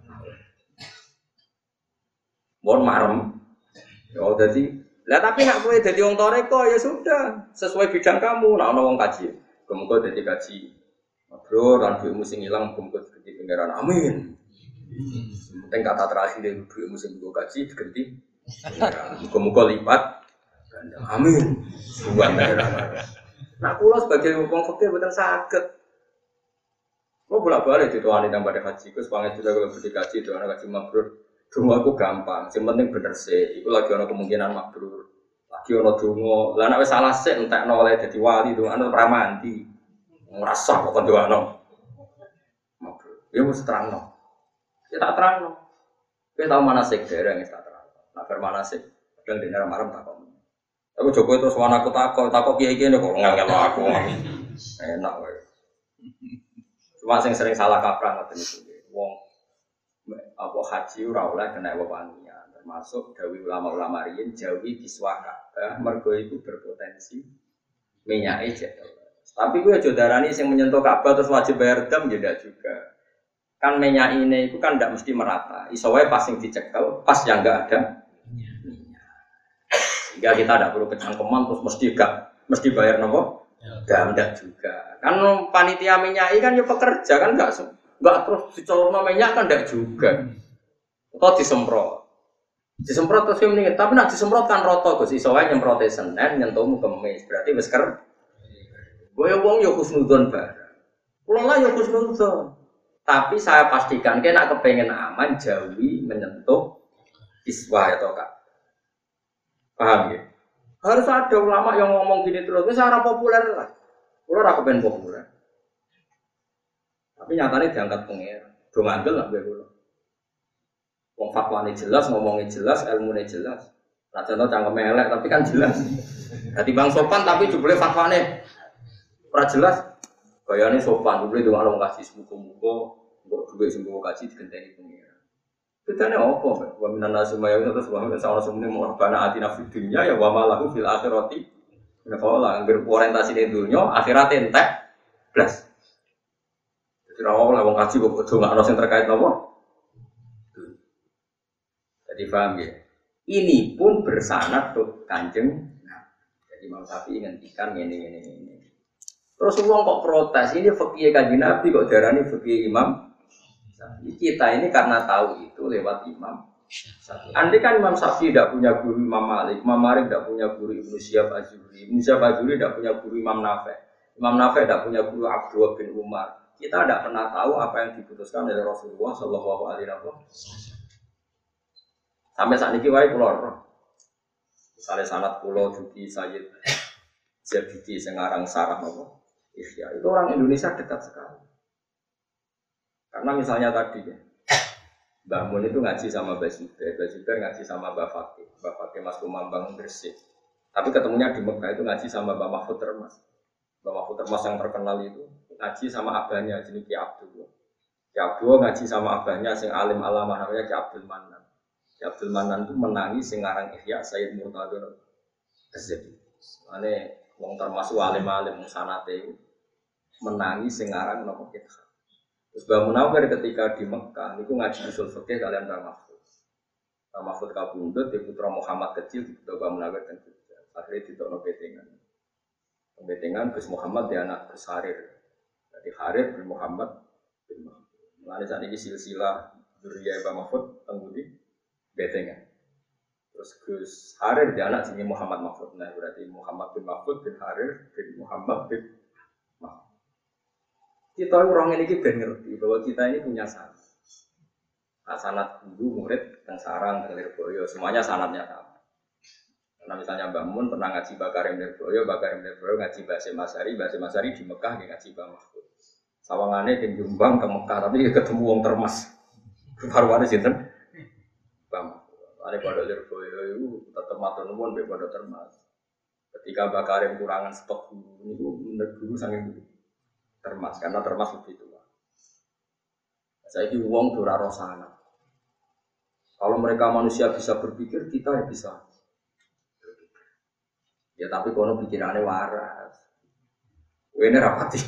Mohon marem. Oh jadi, lah tapi nak kowe jadi wong toreko ya sudah sesuai bidang kamu. Nak ono wong kaji, kemudian jadi kaji. Bro, lan duitmu sing ilang kemudian diganti pangeran. Amin. Penting kata terakhir dari duitmu sing go kaji diganti. Muga-muga lipat. Amin. Buat pangeran. Nah, kula sebagai wong fakir mboten saged. Kula bolak-balik dituani nang pada haji, Gus pangestu kalau beli kaji doana kaji mabrur. Dungo aku gampang, yang penting bener sih. Iku lagi ada kemungkinan mabrur, lagi ada dungo. Lah nek wis salah sik entekno oleh dadi wali dungo ana ora mandi. Ngrasah kok dungo. Mabrur. Ya wis terangno. Ya tak terangno. Kowe tau manasik dereng wis tak terangno. Nak bar manasik kadang dene marem tak kok. Tapi Jokowi terus wana aku takok, takok kiai-kiai kok ngel-ngel aku. Enak wae. Cuma sing sering salah kaprah ngoten niku. Wong apa haji ora oleh kena wewangian, termasuk dawuh ulama-ulama riyin jawi kiswah Ka'bah mergo iku berpotensi minyake jatuh. Tapi kuwi aja darani sing menyentuh Ka'bah terus wajib bayar dam ya ndak juga. Kan minyak ini itu kan ndak mesti merata. Iso wae pas sing dicekel, pas yang enggak ada. Sehingga kita tidak perlu kecangkeman terus mesti gak mesti bayar nopo? Dam ndak juga. Kan panitia minyak kan ya pekerja kan enggak enggak terus dicolokno minyak kan ndak juga. Atau disemprot. Disemprot terus mending tapi nak disemprot kan roto Gus iso wae nyemprote Senin nyentuhmu Kamis. Berarti wis ker. Goyo wong yo husnudzon bareng. Kula lah yo husnudzon. Tapi saya pastikan kena kepengen aman jauhi menyentuh iswah atau Kak. Paham ya? Harus ada ulama yang ngomong gini terus. Ini secara populer lah. Kula ora kepen populer. Tapi nyatanya diangkat pengen. Do ngandel lah gue kula. Wong fatwane jelas, ngomongnya jelas, ilmunya jelas. Nah contoh cangkem elek tapi kan jelas. Dadi bang sopan tapi jebule fatwane ora jelas. Gayane sopan, jebule ndongakno kasih semuga-muga mbok duwe sing mbok kaji digenteni pengira. Bedane opo, wa minan nasumaya terus wa minan sawasumne mu'bana atina fid dunya ya wa malahu fil akhirati. Nek ora anggere orientasi ning dunya, akhirat entek blas. Dadi ora oleh wong kaji kok ndongakno sing terkait napa? Jadi paham ya? Ini pun bersanad tuh Kanjeng. Nah, jadi Imam Syafi'i ngendikan ini ini ini. Terus uang kok protes ini fikih Kanjeng Nabi kok darani fikih Imam Syafi'i. Kita ini karena tahu itu lewat Imam Syafi'i. Andai kan Imam Syafi'i tidak punya guru Imam Malik, Imam Malik tidak punya guru Ibnu Syihab Az-Zuhri, Ibnu Syihab Az-Zuhri tidak punya guru Imam Nafi', Imam Nafi' tidak punya guru Abdullah bin Umar. Kita tidak pernah tahu apa yang diputuskan oleh Rasulullah Shallallahu Alaihi Wasallam. Sampai saat ini wae kula roh. Misalnya sanad kula Juki Sayyid Zabidi sing aran sarah napa? Ihya. Itu orang Indonesia dekat sekali. Karena misalnya tadi ya. Mbah Mun itu ngaji sama Mbah Zubair, Mbah Zubair ngaji sama Mbah Fakih, Mbah Fakih Mas Kumambang Gresik. Tapi ketemunya di Mekah itu ngaji sama Mbah Mahfud Termas. Mbah Mahfud Termas yang terkenal itu ngaji sama abahnya jenis Ki Abdul. Ki Abdul ngaji sama abahnya sing alim alamah namanya Ki Abdul Manan. Abdul Manan itu menangis sing aran Ihya Sayyid Murtadha Az-Zabi. Mane wong termasuk alim-alim sanate menangis sing aran napa kita. Terus Mbah Munawwir ketika di Mekah niku ngaji usul fikih kalian Mbah Mahfud. Mbah Mahfud kabundut di putra Muhammad kecil di Mbah Munawwir kan juga. Akhirnya ditokno petengan. Petengan Gus Muhammad di anak Gus Harir. Jadi Harir bin Muhammad bin Mahfud. Mulane sakniki silsilah dzurriyyah Mbah Mahfud teng pundi? Betengan. Terus Gus Harir dia anak sini Muhammad Mahfud. Nah berarti Muhammad bin Mahfud bin Harir bin Muhammad bin Mahfud. Kita orang ini ben ngerti bahwa kita ini punya sanad. Nah, sanad guru murid teng sarang teng Lirboyo semuanya sanadnya sama. Karena misalnya Mbah Mun pernah ngaji Bakarim Lirboyo, Bakarim Lirboyo ngaji Basim Masari, Basim Masari di Mekah dia ngaji Mbah Mahfud. Sawangane di Jombang ke Mekah tapi ketemu wong Termas. Farwane sinten? Ada pada Lirboyo itu tetap matur nuwun be pada Termas. Ketika Bakarim kurangan stok guru itu menurut guru sangat Termas karena Termas lebih tua. Saya ini uang dora rosana. Kalau mereka manusia bisa berpikir, kita ya bisa. Ya tapi kono pikirannya waras. Ini rapati.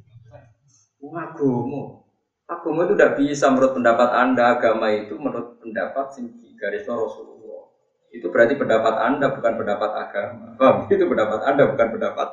Agama, agama itu tidak bisa menurut pendapat Anda. Agama itu menurut pendapat singgi garis Rasulullah. Itu berarti pendapat Anda bukan pendapat agama. Bang, itu pendapat Anda bukan pendapat.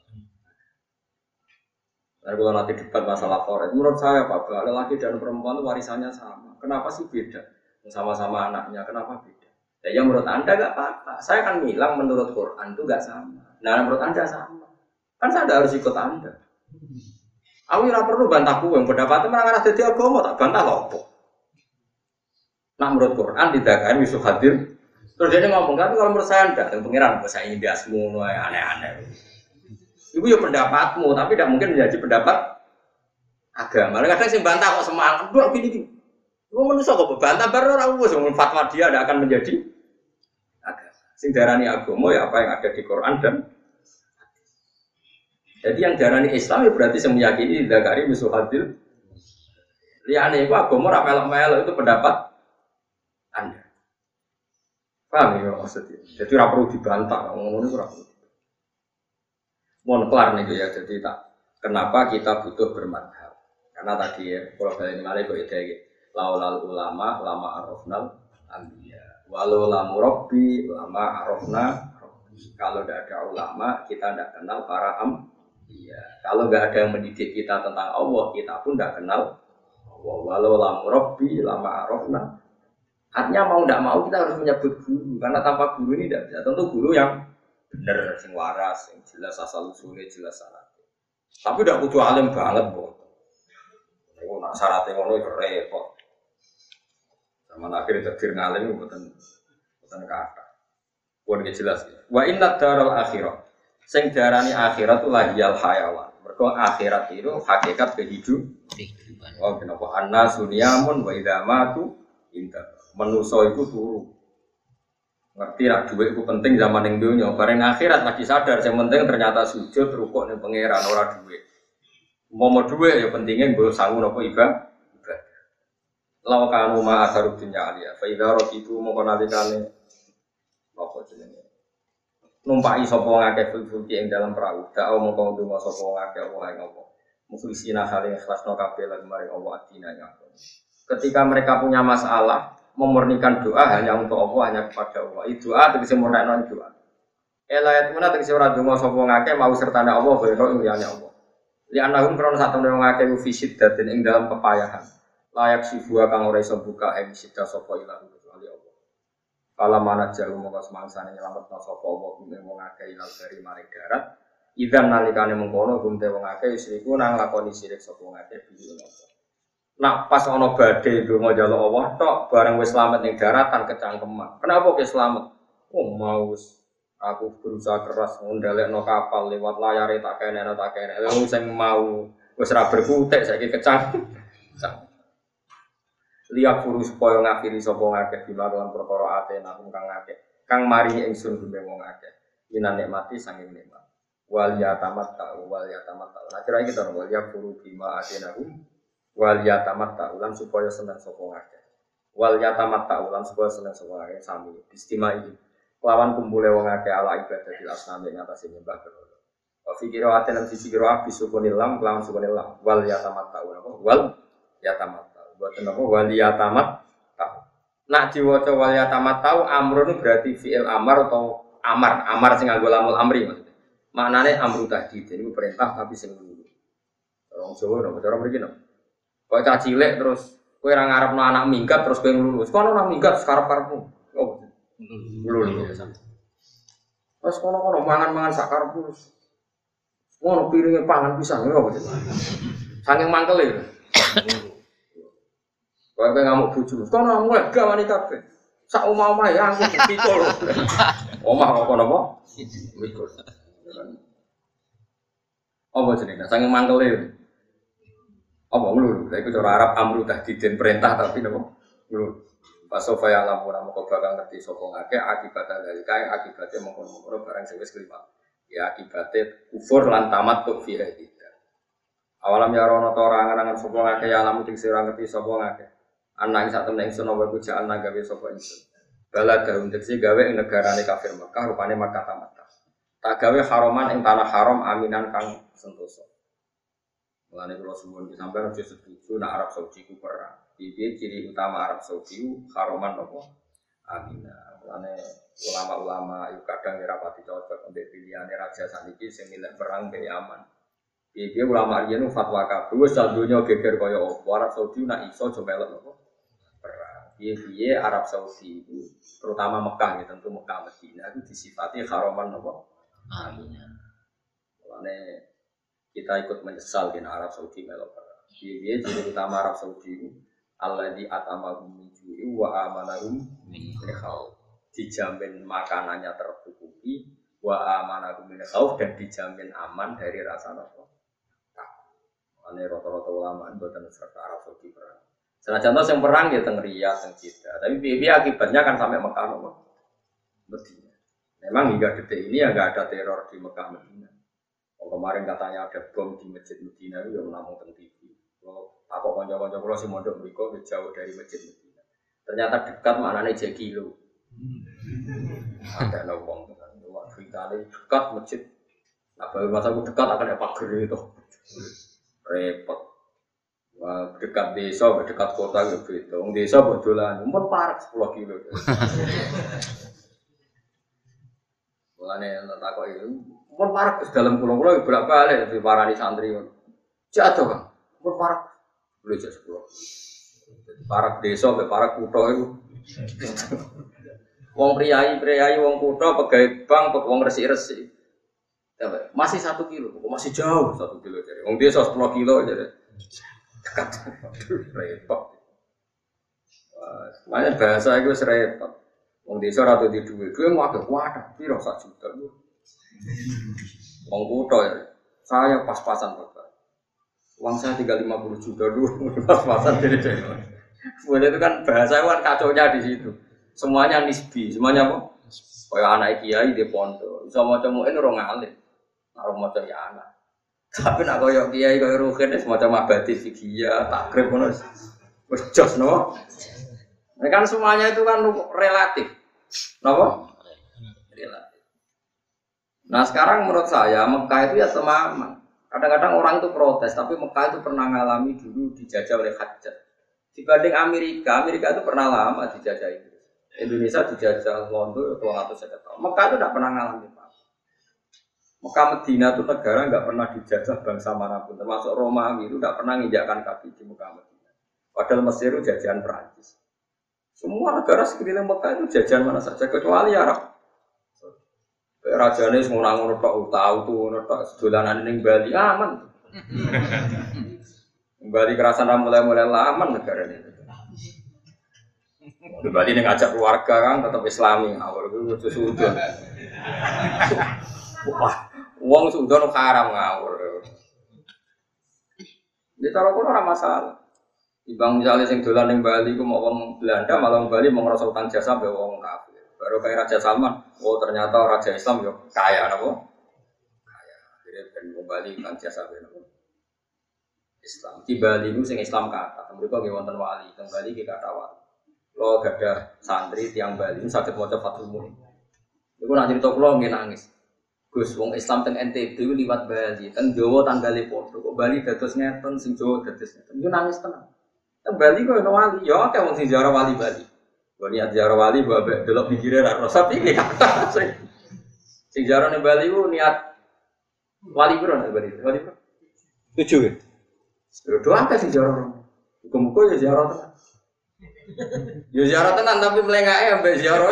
Nah, kalau nanti debat masalah forest, menurut saya Pak, lelaki dan perempuan itu warisannya sama. Kenapa sih beda? Sama-sama anaknya, kenapa beda? Ya, yang menurut Anda nggak apa-apa. Saya kan bilang menurut Quran itu nggak sama. Nah, menurut Anda sama. Kan saya harus ikut Anda. Aku tidak perlu bantah yang pendapatnya menangani jadi agama, tak bantah lopo. Nah, menurut Quran tidak kan bisa hadir. Terus dia ngomong, tapi kalau menurut saya tidak, yang pengiran, saya ini dia semua aneh-aneh. Itu ya pendapatmu, tapi tidak mungkin menjadi pendapat agama. Kadang sih bantah kok semangat, dua gini-gini. Itu manusia kok bantah baru orang gue, semua fatwa dia tidak akan menjadi agama. Sing darani agama ya apa yang ada di Quran dan jadi yang darani Islam ya berarti sing meyakini dzakari misuhadil. Liyane iku agama ora melok-melok itu pendapat Anda. Paham ya maksudnya? Jadi ora perlu dibantah, ngomong itu ora perlu. Mohon kelar nih ya, jadi tak kenapa kita butuh bermadhab? Karena tadi ya, kalau balik malih kok ide laulal ulama lama arafnal anbiya. Walau lamu robbi lama arafna. Kalau tidak ada ulama, kita tidak kenal para anbiya. Kalau nggak ada yang mendidik kita tentang Allah, kita pun tidak kenal Allah. Walau lamu robbi lama arafna. Artinya mau tidak mau kita harus menyebut guru, karena tanpa guru ini tidak bisa. Tentu guru yang benar, yang waras, yang jelas asal usulnya, jelas syaratnya. Tapi tidak butuh alim banget, boh. Oh, nak syaratnya ngono itu repot. Sama akhirnya takdir ngalim, bukan bukan kata. Bukan jelas. Ya. Wa inna daral akhirat. Sing darani akhirat itu lahiyal hayawan. Mergo akhirat itu hakikat kehidupan. Oh, kenapa anna sunyamun wa idza matu inta. Manusa iku turu. Ngerti lah duit itu penting zaman yang dunia. Bareng akhirat lagi sadar, yang penting ternyata sujud rukuk ning pangeran ora duit. Mau mau duit ya pentingnya gue sanggup apa ibadah. Lau kanu ma asarud dunya alia. Fa idza raqitu mongko nalikane apa jenenge. Numpai sapa ngakeh fulki ing dalam perahu. Da'au mongko ndonga sapa ngakeh Allah ing apa. Mukhlisina saling ikhlasno kabeh lan maring Allah adina nyapa. Ketika mereka punya masalah memurnikan doa hanya untuk Allah, hanya kepada Allah. Itu doa tegese murnakno doa. Elayat muna tegese ora donga sapa ngake mau sertane Allah kaya liyane Allah. Li anahum krono satune wong ngake fisid daden ing dalam kepayahan. Layak sifua kang ora iso buka ing sida sapa ilang kecuali Allah. Kala manat jalu mongko semangsane nyelametno sapa Allah ing wong ngake ilang dari maring darat. Idzan nalikane mengkono gumte wong ngake isriku nang lakoni sirik sapa ngake bihi Allah. Nak pas ono badai donga njaluk Allah tok bareng wis slamet ning daratan kecangkeman. Kenapa ke slamet? Oh mau aku berusaha keras ngundalekno kapal lewat layare tak kene tak kene. Wong sing mau wis ra berkutik saiki kecang. Liya guru supaya ngakhiri sapa ngakeh bila lan perkara ate nang kang ngakeh. Kang mari ingsun gumbe wong akeh. Minan nikmati sanging nikmat. Wal yatamat ta wal yatamat ta. Nah kira iki to wal ya guru bima ate nahum. Wal yatamat ta'ulan supaya senang sapa ngakeh. Wal yatamat ta'ulan supaya senang sapa ngakeh sami istimai. Lawan kumpule wong akeh ala ibadatil asnam ing atase nyembah berhala. Wa fikira aten lan sisi kira abis sukunil lam lawan sukunil lam. Wal yatamat ta'ulan apa? Wal yatamat ta'u. Boten apa wal yatamat ta'u. Nak diwaca wal yatamat ta'u amrun berarti fi'il amar atau amar. Amar sing nganggo lamul amri maksudnya. Maknane amru tahdid. Ini perintah tapi sing luru. Orang Jawa napa cara mriki napa? Kok cah cilik terus kowe ora ngarepno anak minggat terus kowe lulus. Kono ora minggat karep-karepmu. Oh. Lulus. Terus kono-kono mangan-mangan sak karepmu. Ngono piringe pangan pisan lho. Saking mangkele. Kowe ngamuk bojo. Kono mulai gawani kabeh. Sak omah-omah ya aku pikul. Omah kok napa? Pikul. Apa jenenge? Saking mangkele. Apa lho, lha iku cara Arab amru tahdidin perintah tapi napa? Lho. Pasofa ya lamun moko bakal ngerti sapa ngake akibat dari kae akibate mengkono-kono barang sing wis kliwat. Ya akibate kufur lan tamat tuk fi hadida. Awalam ya rono ta ora angan-angan sapa ngake ya lamun sing ora ngerti sapa ngake. Anak sak temen ingsun apa bujaan gawe sapa ingsun. Bala daun tekse gawe ing negarane kafir Mekah rupane Makkah tamat. Tak gawe haroman ing tanah haram aminan kang sentosa. Mulane kula suwun iki sampeyan aja setuju nek Arab Saudi ku perang. Iki ciri utama Arab Saudi ku haroman apa? Aminah. Mulane ulama-ulama iku kadang ora pati cocok ambek pilihane raja saniki sing milih perang be aman. Iki ulama riyen fatwa kabeh wis donya geger kaya apa. Arab Saudi nek iso aja melok apa? Perang. Piye-piye Arab Saudi itu terutama Mekah ya tentu Mekah Madinah itu disifati haroman apa? Aminah. Mulane kita ikut menyesal di Arab Saudi melok perang. Dia jadi utama Arab Saudi itu Allah di atamahum minjui wa amanahum min khauf. Dijamin makanannya tercukupi wa amanahum min khauf dan dijamin aman dari rasa takut. Ane rata-rata ulama mboten serta Arab Saudi perang. Senajan yang perang ya teng Riyadh teng Jeddah, tapi piye akibatnya kan sampai Mekah nopo. Medina. Memang hingga detik ini ya nggak ada teror di Mekah Medina. Oh, kemarin katanya ada bom di masjid Medina itu yang namun teng T V. Kalau aku konco-konco kalau si mondok mereka jauh dari masjid Medina. Ternyata dekat maknanya tiga kilo. Ada nawang dengan luar kita dekat masjid. Nah, baru masa aku dekat akan ada pagar itu. Repot. Wah, dekat desa, dekat kota gitu. Wong desa betulan, umur parah sepuluh kilo. Mulane tak kok itu, umur parah ke dalam pulau-pulau berapa kali di parani santri. Jatuh kan, umur parah boleh jadi sepuluh. Jadi parah desa, be parah kutha itu. Wong priayi, priayi, wong kutha, pegawai bank, wong resik-resik. Masih satu kilo, masih jauh satu kilo jadi. Wong desa sepuluh kilo jadi. Dekat, repot. Makanya bahasa itu repot. Wong desa ratu di duit, duit mau ada wadah, piro sak juta lu. Wong kutha ya, saya pas-pasan bapak. Uang saya tinggal lima puluh juta dulu, pas-pasan jadi jadi. Boleh itu kan bahasa kan kacaunya di situ. Semuanya nisbi, semuanya apa? Kayak anak kiai di pondok, bisa mau cemuin orang alim, orang mau ya anak. Tapi nak kayak kiai kayak rugen, semacam abadi fikih, takrib pun harus jos no. Nah, kan semuanya itu kan relatif, kenapa? Relatif. Nah sekarang menurut saya Mekah itu ya semaman. Kadang-kadang orang itu protes, tapi Mekah itu pernah mengalami dulu dijajah oleh Hajjaj. Dibanding Amerika, Amerika itu pernah lama dijajah Inggris. Indonesia dijajah Londo dua ratus tahun. Mekah itu tidak pernah mengalami apa. Mekah Medina itu negara nggak pernah dijajah bangsa manapun, termasuk Romawi itu tidak pernah menginjakkan kaki di Mekah Medina. Padahal Mesir itu jajahan Perancis. Semua negara sekeliling Mekah itu jajahan mana saja kecuali Arab. Rajane semua ngono tok tahu tuh ngono tok dolanan ning Bali aman. Bali kerasan mulai-mulai aman negara ini. Di Bali ning ngajak keluarga kan tetap Islami, awal itu sudon. Wah, wong sudon haram ngawur. Di cara kono ora masalah. Ibang misalnya sing dolan ning Bali ku mau wong Belanda malah wong Bali mau ngerasa utang jasa mbek wong kafir. Baru kayak Raja Salman, oh ternyata Raja Islam yo kaya napa? Kaya. Jadi ben wong Bali utang jasa mbek napa? Islam. Di Bali ku sing Islam kata, mereka nggih wonten wali, teng Bali ki kata wali. Lo gadah santri tiang Bali saged maca Fathul Muin. Iku nak crito kula nggih nangis. Gus wong Islam teng N T B liwat Bali, teng Jawa tanggale padha. Kok Bali dados ngeten, sing Jawa dados ngeten. Iku nangis tenan. Teng Bali kok ono wali, ya akeh wong sing ziarah wali Bali. Kok niat ziarah wali mbok delok pikire ra rasa piye kata sing sing ziarah ning Bali ku niat wali piro nek Bali? Wali piro? tujuh ya. Yo doa akeh sing ziarah. Muga-muga ya ziarah tenan. Ya ziarah tenan tapi melengake ambek ziarah.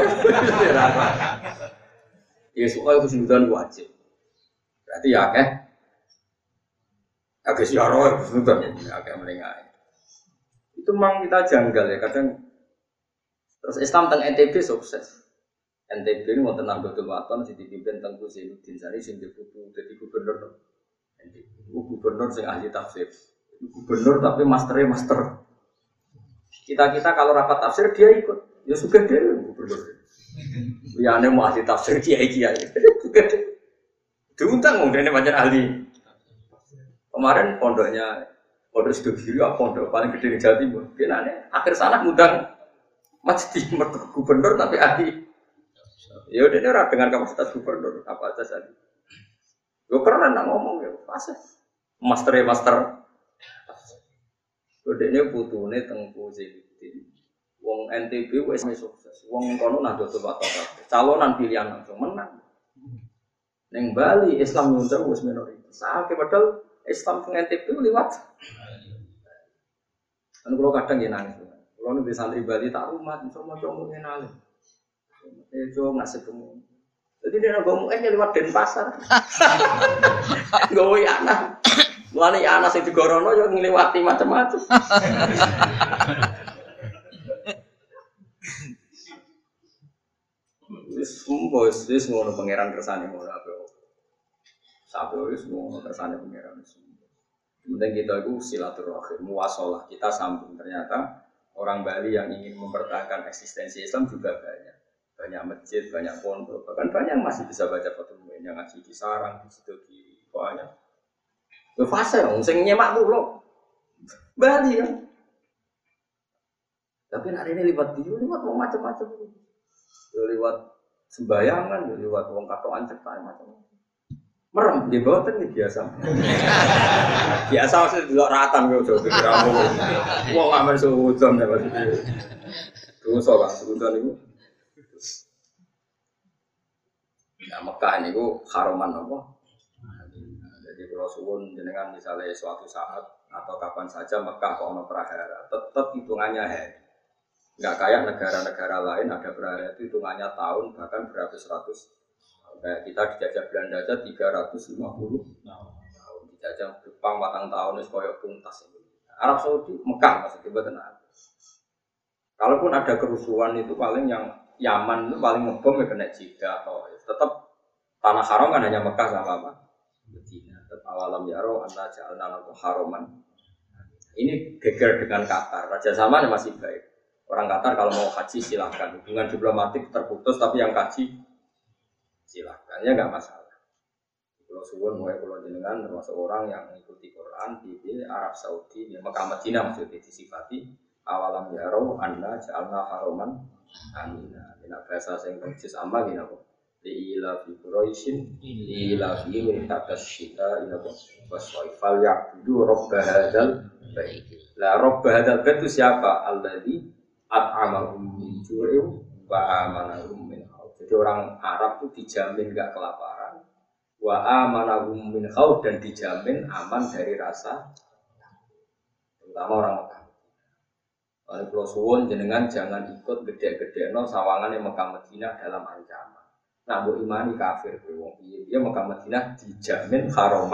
Ya soal kesulitan wajib. Berarti ya akeh. Akeh ziarah kesulitan ya akeh melengake. Itu memang kita janggal ya kadang. Terus Islam teng N T B sukses. N T B ini wonten Nahdlatul Wathon sing dipimpin Tengku Zainuddin Sari sing diputu dadi gubernur N T B. Gubernur sing ahli tafsir. Gubernur tapi masternya master. Kita-kita kalau rapat tafsir dia ikut. Ya suka dia gubernur. Liyane mau ahli tafsir kiai-kiai. Diundang wong dene pancen ahli. Kemarin pondoknya pondok Sidogiri apa pondok paling gede di Jawa Timur. Kenane akhir sana ngundang masjid gubernur tapi ahli. Ya udah ora dengan kapasitas gubernur apa aja tadi. Yo keren nak ngomong ya pas. Master master. Udah ini putune Tengku Zainuddin. Wong N T B wis sukses. Wong kono Nahdlatul Wathon. Calonan pilihan langsung menang. Ning Bali Islam nyunceng wis minoritas. Sakit padahal Islam teng N T B liwat. Kan kalau kadang ya nangis. Kalau nu di santri Bali tak rumah, semua cowok mengenal. Eh cowok ngasih kamu. Jadi dia ngomong aja lewat Denpasar. Gawe anak. Mulane anak sing digorono yo ngliwati macam-macam. Wis mbos wis ngono pangeran kersane ngono ape. Sabe wis ngono kersane pangeran wis. Penting kita itu silaturahim, muwasalah, kita sambung. Ternyata orang Bali yang ingin mempertahankan eksistensi Islam juga banyak. banyak masjid, banyak pondok, bahkan banyak yang masih bisa baca Fathul Muin yang ngaji di sarang, di situ di banyak. Itu fase dong, sing nyemak tuh loh, Bali kan. Tapi hari ini lewat dia, lewat mau macam-macam, lewat sembayangan, lewat wong katoan cetak macam-macam. Merem di bawah kan biasa. Biasa maksudnya di luar ratan gue coba kiramu. Wong aman seutuhan ya maksudnya. Dosa kan seutuhan itu. Nah Mekah ini gue haroman apa? Jadi kalau suwun jenengan misalnya suatu saat atau kapan saja Mekah kok ono prahara, tetap hitungannya hari. Nggak kayak negara-negara lain ada prahara itu hitungannya tahun bahkan beratus-ratus. Kayak kita dijajah Belanda aja tiga ratus lima puluh tahun, dijajah Jepang batang tahun itu koyok tuntas. Arab Saudi, Mekah maksudnya betul. Kalaupun ada kerusuhan itu paling yang Yaman itu paling ngebom ya kena Jeddah atau tetap tanah haram kan hanya Mekah sama apa? Medina. Tetap awalam yaro anta ja'alna lahu haraman. Ini geger dengan Qatar. Raja Salman masih baik. Orang Qatar kalau mau haji silakan. Hubungan diplomatik terputus tapi yang haji silakan ya nggak masalah. Kalau suwun mulai kalau jenengan termasuk orang yang mengikuti Quran di Arab Saudi, di Mekah Madinah maksudnya disifati awalam yaro anta ja'alna haraman. Amin. Nah, bahasa sing persis ama gini apa? Di ila fi Quraisyin, di ila fi mintakas syita ila waswaifal ya'budu rabb hadzal bait. Lah rabb hadzal bait itu siapa? Alladzi at'amahum min ju'in wa amanahum min khauf. Jadi orang Arab itu dijamin enggak kelaparan, wa amanahum min khauf dan dijamin aman dari rasa, terutama orang Mekah. Oleh Pulau Suwon jenengan jangan ikut gede-gede no sawangan yang Mekah Madinah dalam ancaman. Nah, bu imani kafir wong piye dia Mekah Madinah dijamin haroman.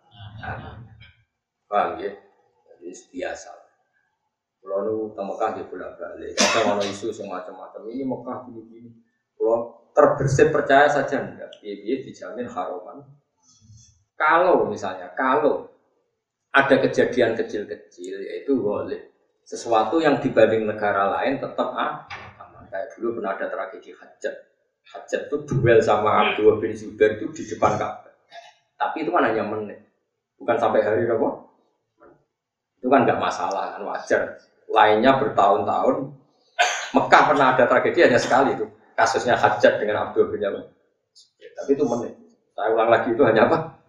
Paham ya? Jadi biasa. Pulau nu teng Mekah di bolak-balik. Ada ono isu semacam-macam ini Mekah gini-gini. Pulau terbersih percaya saja enggak. Piye dijamin haroman. Kalau misalnya kalau ada kejadian kecil-kecil yaitu boleh sesuatu yang dibanding negara lain tetap ah, kayak dulu pernah ada tragedi Hajat. Hajat itu duel sama Abdullah bin Zubair itu di depan Ka'bah. Tapi itu kan hanya menit, bukan sampai hari apa? Itu kan nggak masalah, kan wajar. Lainnya bertahun-tahun. Mekah pernah ada tragedi hanya sekali itu. Kasusnya Hajat dengan Abdullah bin Zubair. Tapi itu menit. Saya ulang lagi itu hanya apa?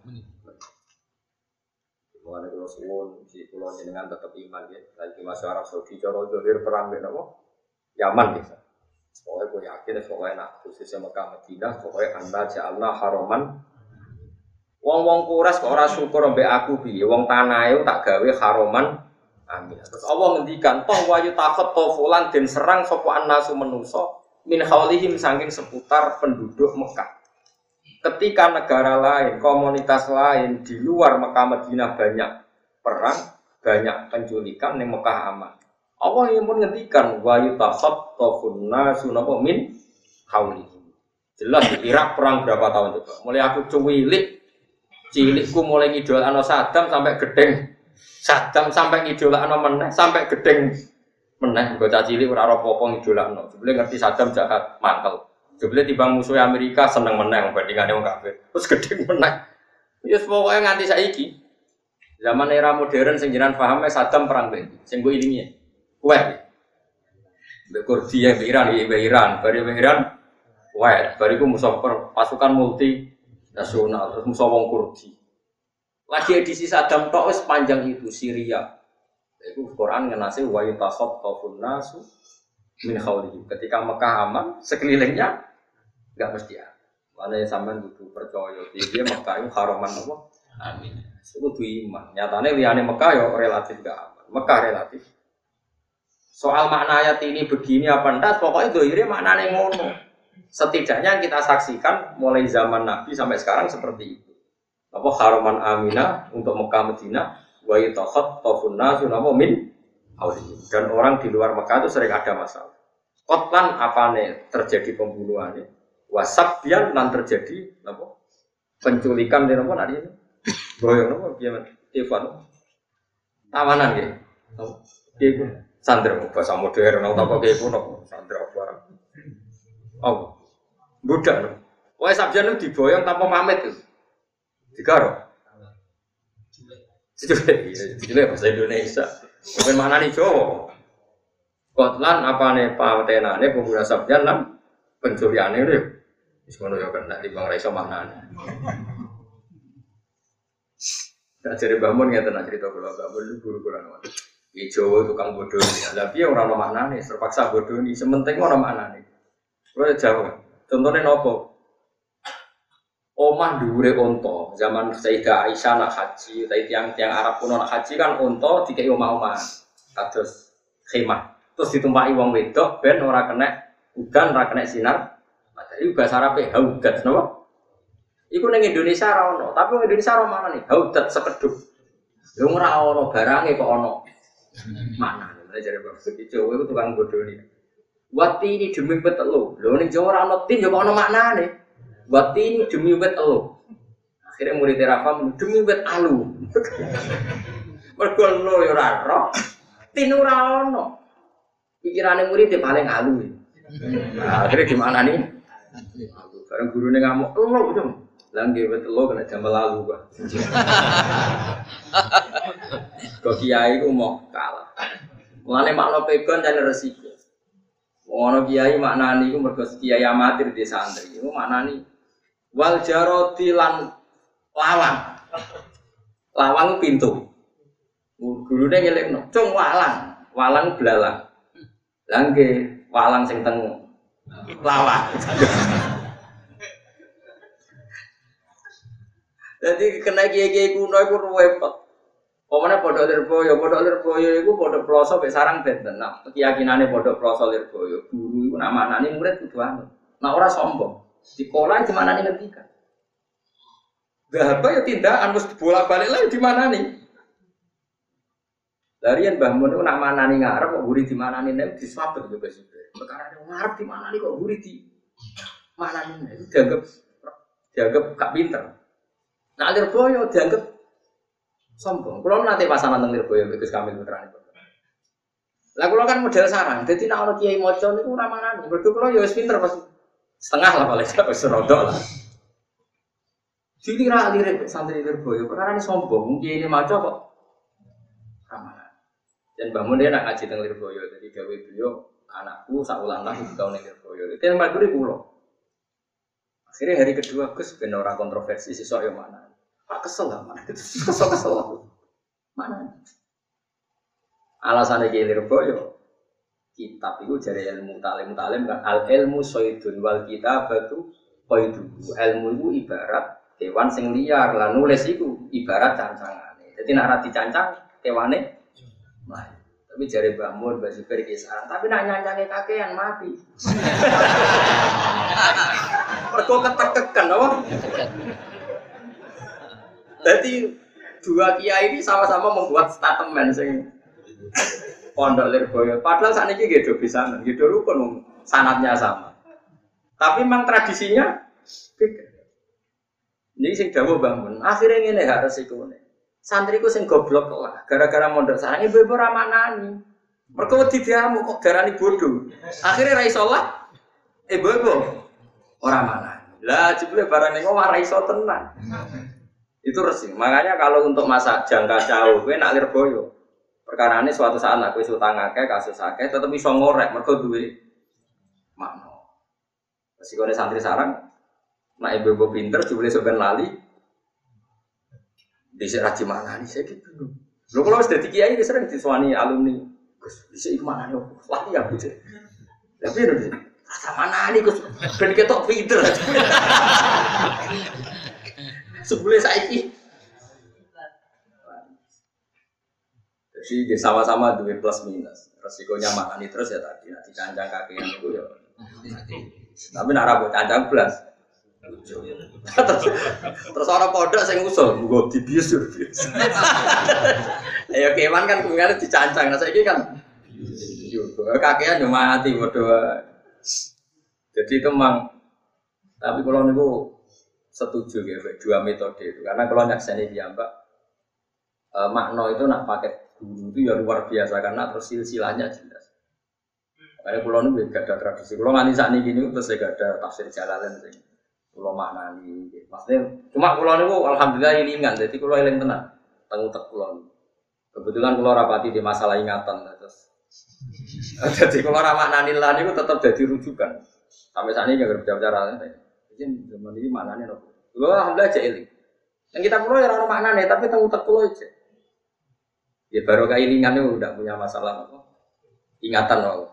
Mengenai Pulau Suwon, di Pulau Jenengan tetap iman ya. Lagi masuk Arab Saudi, Joro Zohir perang dengan apa? Yaman gitu. Pokoknya gue yakin, pokoknya nak khususnya Mekah Madinah, pokoknya anda ja'alna haroman. Wong-wong kuras kok ora syukur mbek aku piye? Wong tanah itu tak gawe haroman. Amin. Terus Allah ngendikan, toh wayu takut tofulan den serang sapa annasu manusa min haulihim saking seputar penduduk Mekah. Ketika negara lain, komunitas lain di luar Mekah Madinah banyak perang, banyak penculikan, yang Mekah aman. Allah yang pun ngendikan wa yutakhattafun nasu napa min haulihim. Jelas di Irak perang berapa tahun coba? Mulai aku cuwilik, cilikku mulai ngidolakno Saddam sampai gedeng. Saddam sampai ngidolakno meneh, sampai gedeng meneh. Bocah cilik ora apa-apa ngidolakno. Jebule ngerti Saddam jahat, mantel. Jebule timbang musuh Amerika seneng meneng bandingane wong kafir. Terus gedhe meneng. Ya pokoke nganti saiki. Zaman era modern sing jenengan pahame Saddam perang ben. Sing mbok ilingi. Kuwait. Mbek Kurdi ya Iran, ya Iran, bari Iran. Kuwait, bariku musuh pasukan multi nasional, terus musuh wong Kurdi. Lagi edisi Saddam tok wis panjang itu Syria. Iku Quran ngenase wa yatakhaffafun nasu min khawlihim. Ketika Mekah aman, sekelilingnya enggak mesti ya. Mana sampean kudu percaya dia Mekah itu haraman apa? Amin. Kudu iman. Nyatane liyane Mekah ya relatif enggak aman. Mekah relatif. Soal makna ayat ini begini apa enggak, pokoknya dohire maknane ngono. Setidaknya kita saksikan mulai zaman Nabi sampai sekarang seperti itu. Apa haraman aminah untuk Mekah Madinah wa yatakhattafun nasu min haulihim. Dan orang di luar Mekah itu sering ada masalah. Kotlan apane terjadi pembunuhannya? Wasabyan lan terjadi apa? Penculikan di apa tadi ini? Boyong apa gimana? Ivan. Tawanan nggih. Nggih, sandra bahasa modern atau apa nggih kuno sandra apa. Oh, budak lho. Wae sabjane diboyong tanpa pamit tuh. Digaro. Cilik, cilik bahasa Indonesia. Bukan mana nih Jawa. Kotlan apa nih patenane pemuda sabjan lan pencuriane lho. Wis ngono ya kena timbang ra iso maknane. Tak jare Mbah Mun ngeten cerita kula Mbah Mun guru kula nang. Ki Jawa tukang bodoni. Lah piye ora ono maknane, terpaksa bodoni, sementing ono maknane. Kula Jawa. Contohnya nopo? Omah dhuwure unta, zaman Sayyidah Aisyah nak haji, tapi tiang-tiang Arab kuno nak haji kan unta dikei omah-omah. Kados khemah. Terus ditumpaki wong wedok ben ora kena udan, ora kena sinar. Matahari bahasa Arabe haudat napa? Iku ning Indonesia ora ono, tapi wong Indonesia ora mana nih? Haudat sekedhuk. Lho ora ono barange kok ono. Mana? Mulai jare Bapak Jawa iku tukang bodoni. Wati ini demi wet elo. Lho ning Jawa ora ono tin yo kok ono maknane. Wati ini demi wet elo. Akhirnya murid Rafa demi wet alu. Mergo elo yo ora ro. Tin ora ono. Pikirane murid paling alu. Nah, akhirnya gimana nih? Bareng gurune ngamuk, elo dong. Lah nggih wet elo kena jam lalu, Pak. Kok kiai ku mau kalah. Mulane makna pegon dan resiko. Ono kiai maknani iku mergo kiai amatir di santri. Iku maknani wal jaroti lan lawang. Lawang pintu. Gurune ngelekno, "Cung walang, walang blalang." Lah nggih, walang sing teng lawang. Jadi kena kiai-kiai kuno iku repot. Pokoknya pondok Lirboyo, pondok Lirboyo itu pondok Ploso sampai sarang benten. Nah, keyakinannya pondok Ploso Lirboyo, guru itu nama anaknya murid kudu anu. Nah orang sombong, di sekolah di mana nih ngertikan? Gak apa ya tindakan harus bolak balik lagi di mana nih? Dari yang bangun itu nama anaknya ngarep kok guru di mana nih? Nih diswabet juga sih. Perkara yang ngarep di mana nih kok guru di mana nih? Itu dianggap dianggap gak pinter. Nah Lirboyo dianggap sombong. Kalau nanti pasangan tentang Lirboyo Gus Kamil putrane. Lah kula kan model sarang. Dadi nek ana kiai maca niku ora manani. Mergo kula ya wis pinter pas setengah lah paling wis rodok lah. Dikira lirik santri Lirboyo perkara ini sombong. Kiai ini maca kok ramalan. Dan bangun dia nak ngaji tentang Lirboyo. Jadi gawe beliau anakku sak ulang tahun tahun ning Lirboyo. Itu yang maduri kula. Akhirnya hari kedua Gus ben ora kontroversi sesuk yo mana. Pak kesel lah, mana? Kesel-kesel aku. Mana? Alasannya kiai Lirboyo, kitab itu dari ilmu talim talim kan al ilmu soidun wal kitab itu koidu. Ilmu itu ibarat hewan sing liar, lah nulis itu ibarat cancangan. Jadi nak rati cancang hewane, nah. Tapi jari bangun baju berkisaran. Tapi nak nyancangnya kakean mati. Mergo ketek-kekan, apa? Jadi dua kiai ini sama-sama membuat statement sing pondok Lirboyo. Padahal saat ini gitu bisa, gitu rukun sanatnya sama. Tapi memang tradisinya beda. Jadi sing dawuh bangun. Akhirnya ngene gak resikone. Santriku sing goblok lah. Gara-gara mondok sarang ibu-ibu ra manani. Mergo wedi diamu kok darani bodoh. Akhirnya ra iso lah. Ibu-ibu ora manani. Lah jebule barang ning omah ra iso tenan. Itu resik. Makanya kalau untuk masa jangka jauh, gue nak Lirboyo. Perkara ini suatu saat aku utang akeh, kasus akeh, tetap bisa ngorek, mereka duwe makna. Resikonya santri sarang, nak ibu-ibu pinter, jubli sebenarnya lali, bisa raji mana nih, saya gitu. Lo kalau sudah di kiai, sering disuani alumni, Gus, bisa ikut mana nih, lali ya, gitu. Tapi itu, rasa mana nih, Gus, ben ketok pinter. Sebelum saiki, jadi sama-sama duit plus minus. Resikonya makan terus ya tadi nanti cancang kakian itu ya. Tapi nara buat cancang plus. terus, terus orang pondok saya ngusul, gue dibius dibius. Ya kewan kan kemarin dicancang, nah saya kan. Kakian cuma mati bodoh. Jadi itu memang. Tapi kalau niku setuju ya, dua metode itu. Karena kalau nyakseni dia mbak, e, makna itu nak pakai guru itu ya luar biasa karena terus silsilahnya jelas. Karena pulau ini gak ada tradisi. Pulau nganti saat ini gini terus gak ada tafsir Jalalain sih. Pulau maknani. Maksudnya cuma pulau ini alhamdulillah ilingan. Jadi pulau eling tenang. Tengutek pulau. Kebetulan pulau rapati di masalah ingatan terus. Jadi pulau maknani lah ini tetap jadi rujukan. Sampai saat ini gak berbicara. Jadi zaman ini maknani loh. Pulau alhamdulillah aja iling. Yang kita pulau ya orang maknani tapi tengutek pulau aja. Ya baru kayak ilingan itu udah punya masalah apa? Ingatan loh.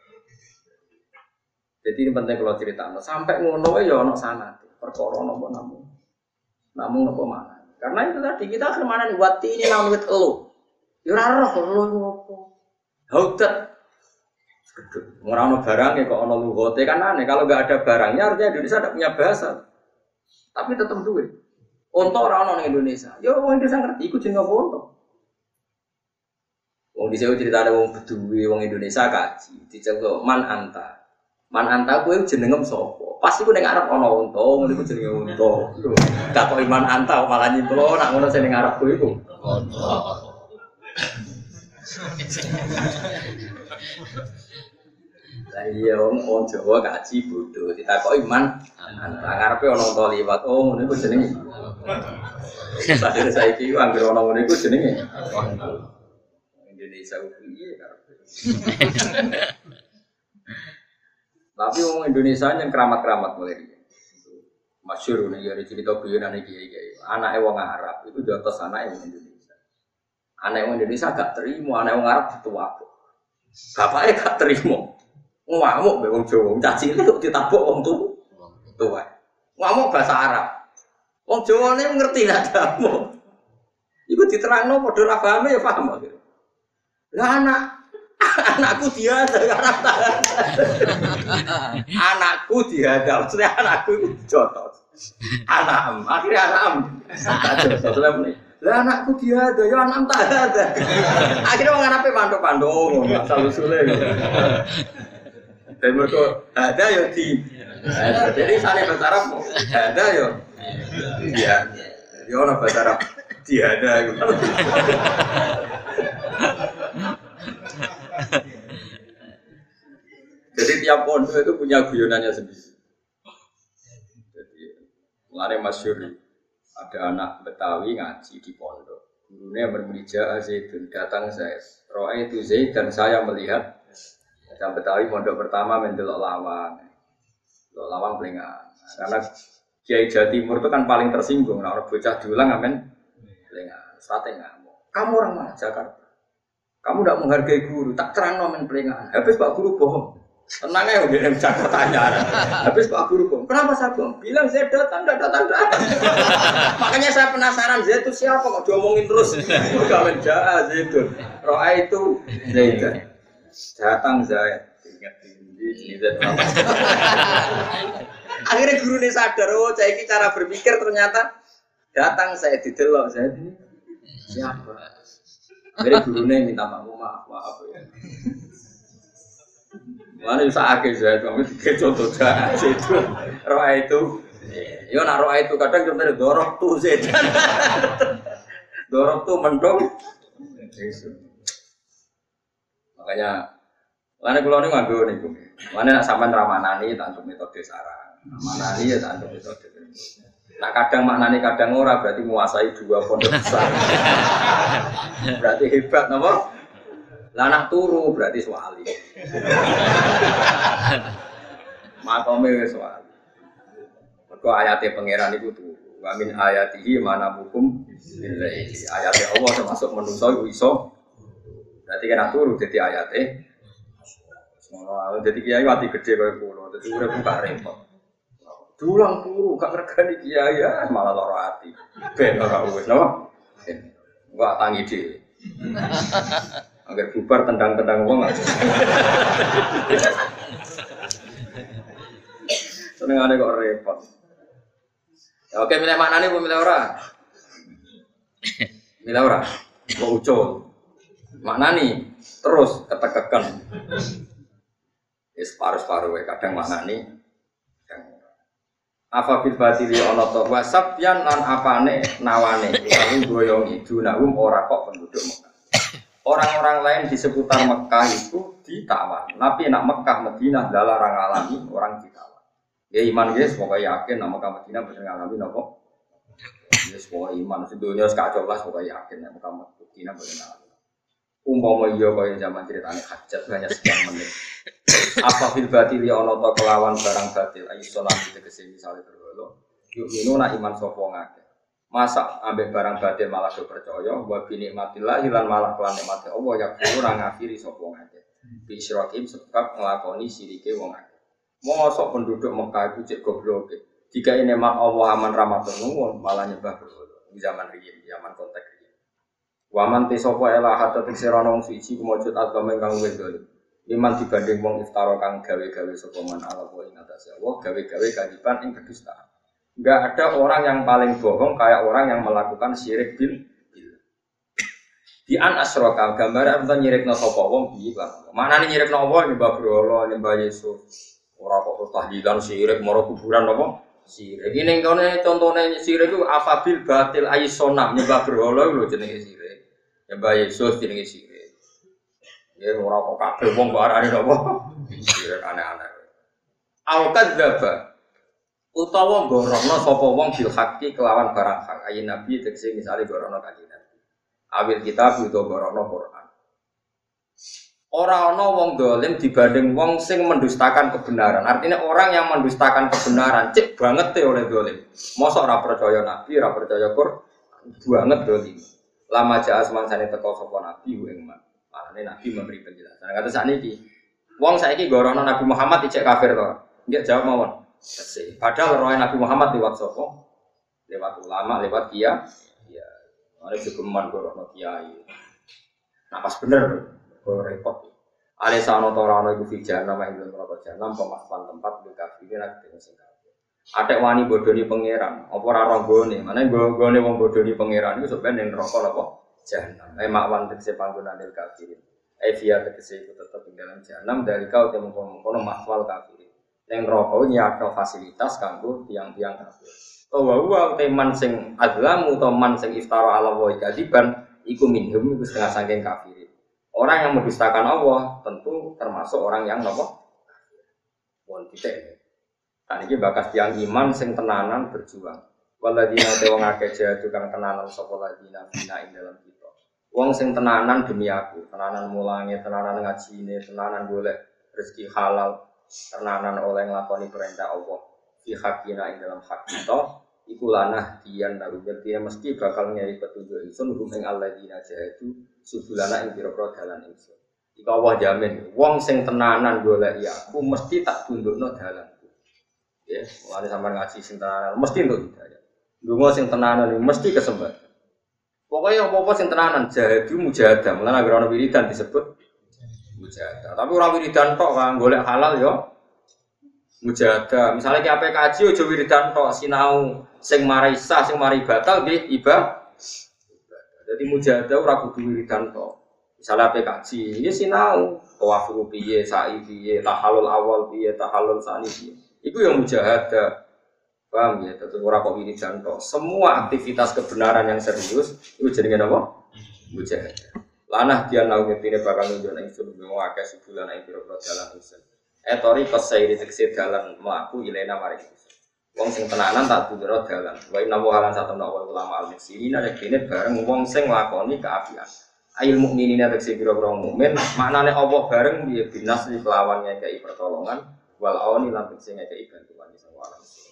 Jadi ini penting kalau cerita. Sampai ngono ya ono sana. Perkara nopo namun, namun nopo mana? Karena itu tadi kita akan mana nih? Wati ini namun itu elu. Yurarah elu nopo. Hautat. Orang barang ya kok ono lugote kan aneh. Kalau nggak ada barangnya artinya Indonesia tidak punya bahasa. Tapi tetap duit. Untuk orang orang Indonesia. Ya orang Indonesia ngerti. Ikut jeneng apa untuk? Wong dhisik cerita ada wong Bedui, wong Indonesia kaji, diceluk man anta. Man anta kuwi jenengem sapa? Pas iku ning arep ana unta, ngono iku jenenge unta. Gak kok iman anta malah nyimplo nak ngono sing ning arep kuwi iku. Unta. Lah iya wong wong Jawa kaji bodho, ditakoki iman anta ngarepe ana unta liwat. Oh ngono iku jenenge. Sadene saiki anggere ana ngono iku jenenge. Indonesia iya karepe. Tapi orang Indonesia yang keramat-keramat mulai masyhur nih ya cerita guyonan iki iki. Anake wong Arab itu di atas anake wong Indonesia. Anake wong Indonesia gak terima, anake wong Arab dituwak. Bapake gak terima. Ngamuk mbek wong Jawa, caci cilik ditabok wong tuwa. Ngamuk bahasa Arab. Wong Jawane ngerti lah damu. Iku diterangno padha ra paham ya paham kok. Lah anak anakku dia ada Arab. Anakku dia ada, maksudnya anakku itu jotos. Anam, akhirnya anam. Lah anakku dia ada, ya anam tak ada. Akhirnya orang Arab pandu-pandu, asal usulnya. Dan mereka ada ya di, jadi sana bahasa Arab ada ya, iya, ya orang bahasa Arab dia ada. Jadi tiap pondok itu punya guyonannya sendiri. Jadi mulai masyhur ada anak Betawi ngaji di pondok. Gurunya bermija Zaidun datang saya. Roa itu Zaid dan saya melihat. Yang Betawi pondok pertama mendelok lawang. Delok lawang pelingan. Karena Kiai Jawa Timur itu kan paling tersinggung. Nah, orang bocah diulang amen pelingan. Strategi ngamuk. Kamu orang mana Jakarta? Kamu tidak menghargai guru, tak terang nomen pelingan. Habis Pak Guru bohong. Tenang ya, udah bisa pertanyaan. Habis Pak Guru bohong. Kenapa saya bohong? Bilang saya datang, tidak datang, datang. Makanya saya penasaran, Zaid itu siapa kok diomongin terus? Udah menjaa Zaid itu. Roa itu Zaid. Datang Zaid. Ingat ini Zaid. Akhirnya guru ini sadar, oh saya ini cara berpikir ternyata datang saya didelok Zaid ini siapa? Akhirnya gurunya minta maaf, maaf, maaf ya. Mana bisa akhir saya, kamu tiga contoh jahat itu, roa itu, yo nak roa itu kadang contohnya dorok tuh sedan, dorok tuh mendong, makanya, mana kalau ni ngambil ni kum, mana nak sampai ramanani tak untuk metode sarang, ramanani ya tak untuk metode. Nah kadang maknani kadang ora berarti menguasai dua pondok besar. Berarti hebat napa? Lah anak turu berarti wali. Makome wis wali. Mergo ayate pangeran iku turu. Wa min ayatihi mana hukum billahi. Ayate Allah termasuk manusa iku iso. Berarti kan turu dadi ayate. Semua dadi kiai wati gede kaya kula. Dadi urip buka repot. Dulang turu gak regani kiai ya malah lara ati. Ben ora wis napa? Enggak tangi dhewe. Agar bubar tendang-tendang wong. Senengane kok repot. Ya oke milih maknane apa milih ora? Milih ora. Kok ucul. Maknani terus ketekekan. Wis paru-paru wae kadang maknani. Apa bil batili ana to wasabyan lan apane nawane lalu goyong idunahum ora kok penduduk Mekah. Orang-orang lain di seputar Mekah itu ditawan. Tapi nak Mekah Madinah dalarang alami orang ditawan. Ya iman guys, pokoknya yakin nak Mekah Madinah bisa ngalami nopo. Ya semua iman sedunia sekacau lah, pokoknya yakin nak Mekah Madinah bisa ngalami. Umpama iya kaya zaman ceritane hajat banyak sekian menit. Apa fil batil ya ana ta kelawan barang batil ayo salam tegese misale berhala. Yuk ngono nak iman sapa ngake. Masa ambek barang batil malah do percaya wa bi nikmatillah lan malah kelan nikmate Allah ya ora ngafiri sapa ngake. Bi syirakim sebab nglakoni sirike wong akeh. Mosok penduduk Mekah itu cek goblok. Jika ini mak Allah aman rahmatun nuwun malah nyembah berhala. Di zaman riyin, zaman konteks waman te sapa ela hatta teksirana wong suci kumujud agama ingkang wedol. Iman dibanding wong iftara kang gawe-gawe sapa man ala wa ing atase Allah gawe-gawe kadipan ing kedustaan. Enggak ada orang yang paling bohong kayak orang yang melakukan syirik bil bil. Di an asroka gambar apa nyirikna sapa wong piye lan. Manane nyirikna Allah nyembah berhala, nyembah Yesus. Ora kok tahlilan syirik maro kuburan apa? Syirik. Iki ning kene contone syirik ku afabil batil aisonam nyembah berhala lho jenenge syirik. Ya Mbak Yesus jenenge sirik. Ya ora kok kabeh wong kok arane napa? Sirik aneh-aneh. Al kadzdzaba utawa gorono sapa wong bil haqqi kelawan barang hak. Ayin nabi tegese misale gorono kanjeng Nabi. Awil kitab utawa gorono Quran. Ora ana wong dolim dibanding wong sing mendustakan kebenaran. Artinya orang yang mendustakan kebenaran cek banget te oleh dolim. Mosok ora percaya nabi, ora percaya Quran, banget dolim. Lama jaa semangsane teko sapa nabi ing man. Malane nabi memberi penjelasan. Kata sakniki, wong saiki gorono Nabi Muhammad ijek kafir to. Nggih jawab mawon. Sesih. Padahal roh Nabi Muhammad lewat sapa? Lewat ulama, lewat kiai. Ya, mari gegeman gorono kiai. Nah pas bener kok repot. Ale sano to ora ono iku fijana mak ing neraka jahanam pemaspan tempat di kafirin nek sing kafir. Atek wani bodoni pangeran, apa ora ronggone? Mane gone wong bodoni pangeran iku sebenarnya ning neraka napa? Jahanam. Eh makwan tegese panggonan il kafirin. Eh via tegese iku tetep ing dalam jahanam dari kau temu kono mahwal kafirin. Ning neraka nyatno fasilitas kanggo tiang-tiang kafir. To wa wa teman sing azlamu to man sing iftara ala wa kadiban iku minhum iku setengah saking kafirin. Orang yang mendustakan Allah tentu termasuk orang yang napa? Wong titik. Kan iki bakas tiang iman sing tenanan berjuang. Waladina te wong akeh jadu kang tenanan sapa ladina bina ing dalam kita. Wong sing tenanan demi aku, tenanan mulange, tenanan ngajine, tenanan golek rezeki halal, tenanan oleh nglakoni perintah Allah. Fi hakina ing dalam hak kita, iku lanah dian lalu dia mesti bakal nyari petunjuk ingsun rum ing alladzina jadu subulana ing pira-pira dalan ingsun. Iku Allah jamin, wong sing tenanan golek aku mesti tak tundukno dalan. Ya, mulane sampean ngaji sing tenanan mesti untuk hidayah. Ndonga sing tenanan mesti kesempatan. Pokoknya apa-apa sing tenanan jahadu mujahadah. Mulane anggere ana wiridan disebut mujahadah. Tapi ora wiridan tok kan golek halal ya mujahadah. Misale ki ape kaji aja wiridan tok sinau sing marai sah sing mari batal nggih ibadah. Jadi mujahadah ora kudu wiridan tok. Misale ape kaji ya sinau tawaf piye, sa'i piye, tahallul awal piye, tahallul sani piye. Itu yang mujahadah, paham ya? Tentu orang kok ini jantok. Semua aktivitas kebenaran yang serius itu jenenge apa? Mujahadah. Lanah dia lau ngetine bakal nunjuk nang ingsun mewake sebulan ing pira-pira dalan ingsun. Etori kosairi tekse dalan mlaku ilena mari ingsun. Wong sing tenanan tak tundura dalan. Wa inna wa halan satana ulama al-muslimin nek dene bareng wong sing nglakoni kaapian. Ail mukminina tekse pira-pira mukmin, maknane Allah bareng piye binas kelawan ngekeki pertolongan. Wal awani lantik sing ngekei bantuan di semua alam.